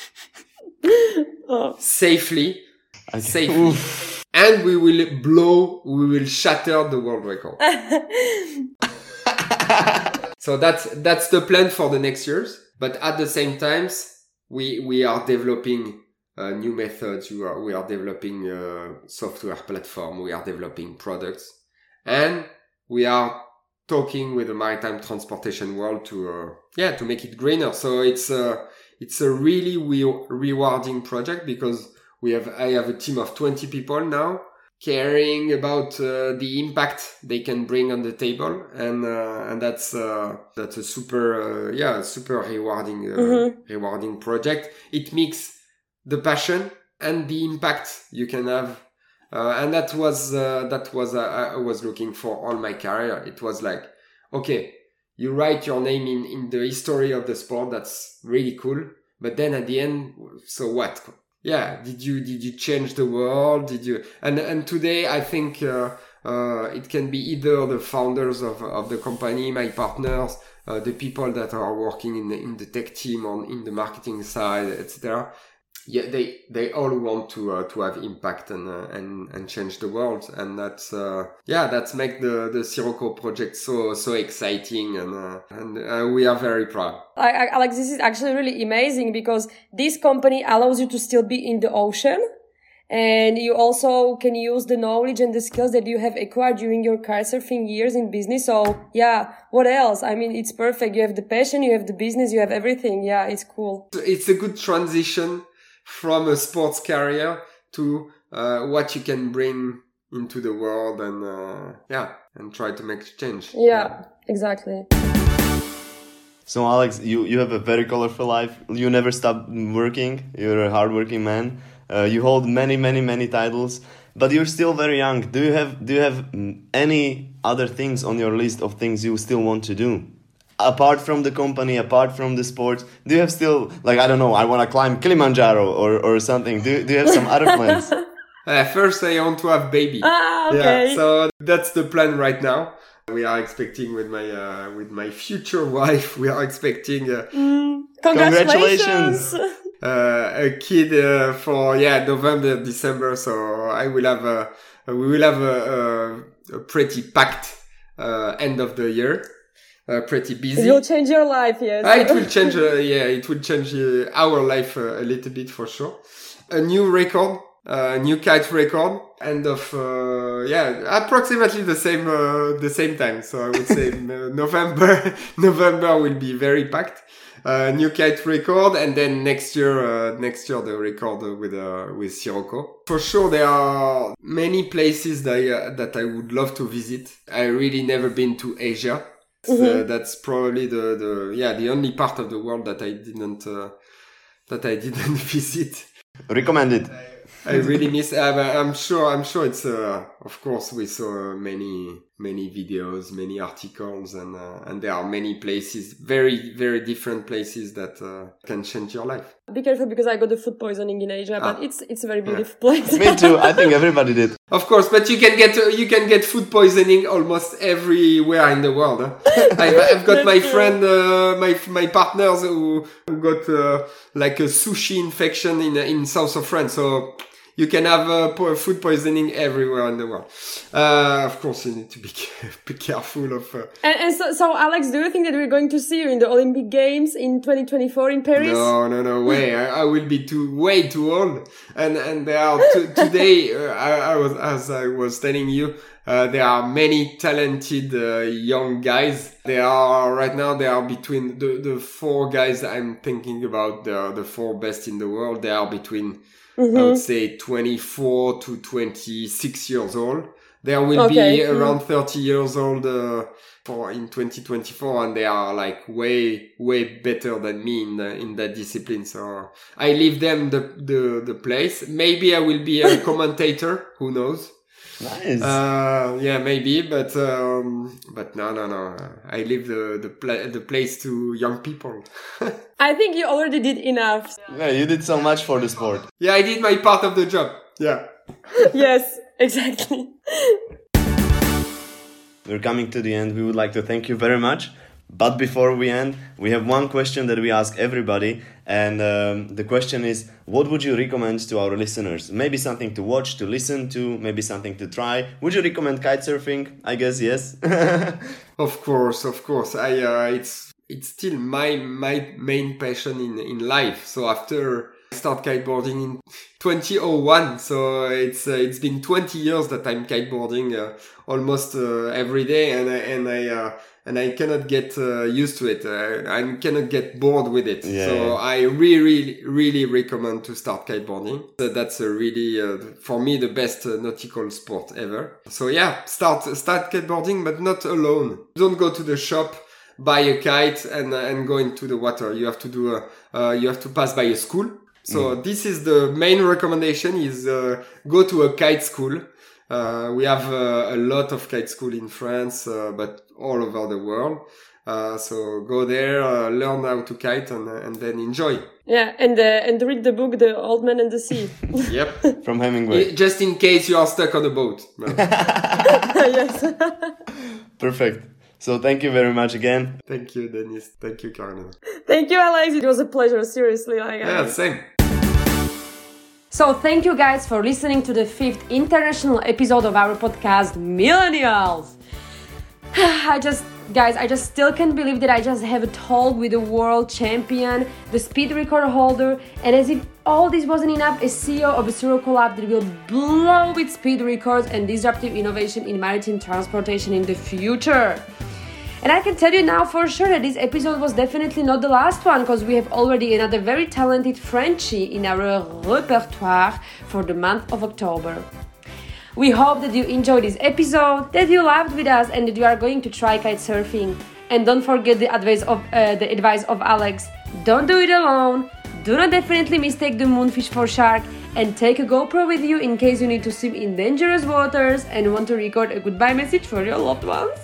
oh. safely, okay. safely. And we will blow, we will shatter the world record. So that's, that's the plan for the next years. But at the same time, we, we are developing uh, new methods. We are, we are developing a software platform. We are developing products. And we are talking with the maritime transportation world to, uh, yeah, to make it greener. So it's a, it's a really re- rewarding project because We have, I have a team of twenty people now. caring about uh, the impact they can bring on the table, and uh, and that's uh, that's a super uh, yeah super rewarding uh, mm-hmm. rewarding project. It mixes the passion and the impact you can have, uh, and that was uh, that was uh, I was looking for all my career. It was like, okay, you write your name in in the history of the sport. That's really cool, but then at the end, so what? Yeah, did you did you change the world? Did you and and today I think uh, uh, it can be either the founders of of the company, my partners, uh, the people that are working in the, in the tech team or in the marketing side, et cetera. Yeah, they they all want to uh, to have impact and uh, and and change the world, and that's uh, yeah that's make the the Sirocco project so so exciting, and uh, and uh, we are very proud. I, I, Alex, this is actually really amazing because this company allows you to still be in the ocean, and you also can use the knowledge and the skills that you have acquired during your kitesurfing years in business. So yeah, what else? I mean, it's perfect. You have the passion, you have the business, you have everything. Yeah, it's cool. It's a good transition from a sports career to uh, what you can bring into the world, and uh, yeah, and try to make change. Yeah, yeah, exactly. So Alex, you, you have a very colorful life. You never stop working. You're a hardworking man. Uh, you hold many, many, many titles, but you're still very young. Do you have do you have any other things on your list of things you still want to do? Apart from the company, apart from the sport, do you have still, like, I don't know, I want to climb Kilimanjaro or, or something? Do, do you have some other plans? Uh, first, I want to have baby. Ah, okay. Yeah, so that's the plan right now. We are expecting with my uh, with my future wife, we are expecting uh, mm, congratulations, congratulations. uh, a kid uh, for yeah November, December. So I will have a we will have a, a, a pretty packed uh, end of the year. Uh, pretty busy. It will change your life, yes. Uh, it will change, uh, yeah, it will change uh, our life uh, a little bit for sure. A new record, a uh, new kite record, end of, uh, yeah, approximately the same, uh, the same time. So I would say uh, November, November will be very packed. Uh, new kite record, and then next year, uh, next year the record with, uh, with Sirocco. For sure, there are many places that I, uh, that I would love to visit. I really never been to Asia. Mm-hmm. Uh, that's probably the, the yeah the only part of the world that I didn't uh, that I didn't visit. Recommend it. I really miss. Uh, I'm sure. I'm sure it's. Uh, of course, we saw many many videos, many articles, and uh, and there are many places, very very different places that uh, can change your life. Be careful because I got the food poisoning in Asia, ah. but it's it's a very beautiful yeah. place. Me too. I think everybody did. Of course, but you can get uh, you can get food poisoning almost everywhere in the world. Huh? I've, I've got my true. friend, uh, my my partners who, who got uh, like a sushi infection in in south of France. So you can have uh, food poisoning everywhere in the world. Uh, of course, you need to be be careful of. Uh... And, and so, so, Alex, do you think that we're going to see you in the Olympic Games in twenty twenty-four in Paris? No, no, no way! I, I will be too way too old. And and there are t- today. Uh, I, I was as I was telling you. Uh, there are many talented uh, young guys. They are right now. They are between the the four guys I'm thinking about. The the four best in the world. They are between. Mm-hmm. I would say twenty-four to twenty-six years old. There will okay. be around mm-hmm. thirty years old uh, for in twenty twenty-four, and they are like way way better than me in the, in that discipline. So I leave them the the the place. Maybe I will be a commentator. Who knows? Nice. Uh, yeah, maybe, but um, but no, no, no. I leave the the, pla- the place to young people. I think you already did enough. Yeah, you did so much for the sport. Yeah, I did my part of the job. Yeah. Yes, exactly. We're coming to the end. We would like to thank you very much. But before we end, we have one question that we ask everybody. And um, the question is, what would you recommend to our listeners? Maybe something to watch, to listen to, maybe something to try. Would you recommend kitesurfing? I guess yes. Of course, of course. I uh, it's it's still my my main passion in, in life. So after I start kiteboarding in twenty oh one, so it's uh, it's been twenty years that I'm kiteboarding uh, almost uh, every day, and I, and I uh, and I cannot get uh, used to it. Uh, I cannot get bored with it. Yeah, so yeah. I really, really, really recommend to start kiteboarding. So that's a really, uh, for me, the best uh, nautical sport ever. So yeah, start start kiteboarding, but not alone. Don't go to the shop, buy a kite, and uh, and go into the water. You have to do a, uh, you have to pass by a school. So mm. this is the main recommendation: is uh, go to a kite school. Uh, we have uh, a lot of kite school in France, uh, but all over the world. Uh, so go there, uh, learn how to kite, and, uh, and then enjoy. Yeah, and uh, and read the book The Old Man and the Sea. Yep. From Hemingway. Just in case you are stuck on a boat. Yes. Perfect. So thank you very much again. Thank you, Dennis. Thank you, Carolina. Thank you, Alex. It was a pleasure, seriously. Like, Yeah, I... same. So thank you guys for listening to the fifth international episode of our podcast, Millennials. I just, guys, I just still can't believe that I just have a talk with the world champion, the speed record holder, and as if all this wasn't enough, a C E O of a Sirocco lab that will blow with speed records and disruptive innovation in maritime transportation in the future. And I can tell you now for sure that this episode was definitely not the last one, because we have already another very talented Frenchie in our repertoire for the month of October. We hope that you enjoyed this episode, that you laughed with us, and that you are going to try kite surfing. And don't forget the advice of uh, the advice of Alex. Don't do it alone. Do not definitely mistake the moonfish for shark, and take a GoPro with you in case you need to swim in dangerous waters and want to record a goodbye message for your loved ones.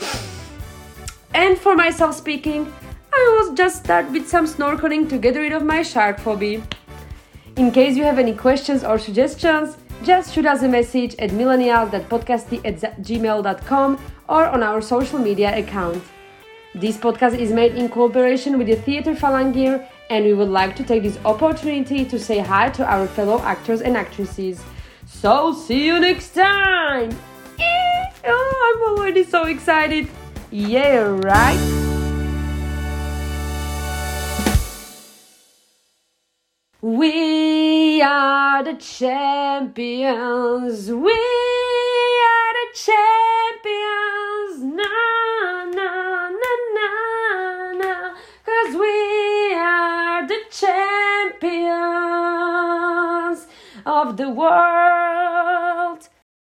And for myself speaking, I will just start with some snorkeling to get rid of my shark phobia. In case you have any questions or suggestions, just shoot us a message at millennials dot podcasty at gmail dot com or on our social media account. This podcast is made in cooperation with the Theatre Phalangier, and we would like to take this opportunity to say hi to our fellow actors and actresses. So see you next time! Oh, I'm already so excited! Yeah, right? We are the champions. We are the champions. Na, na, na, na, na. 'Cause we are the champions of the world.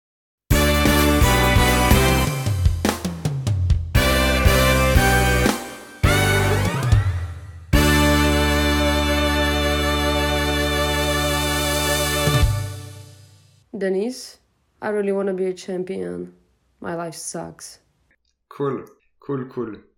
Denise, I really want to be a champion. My life sucks. Cool, cool, cool.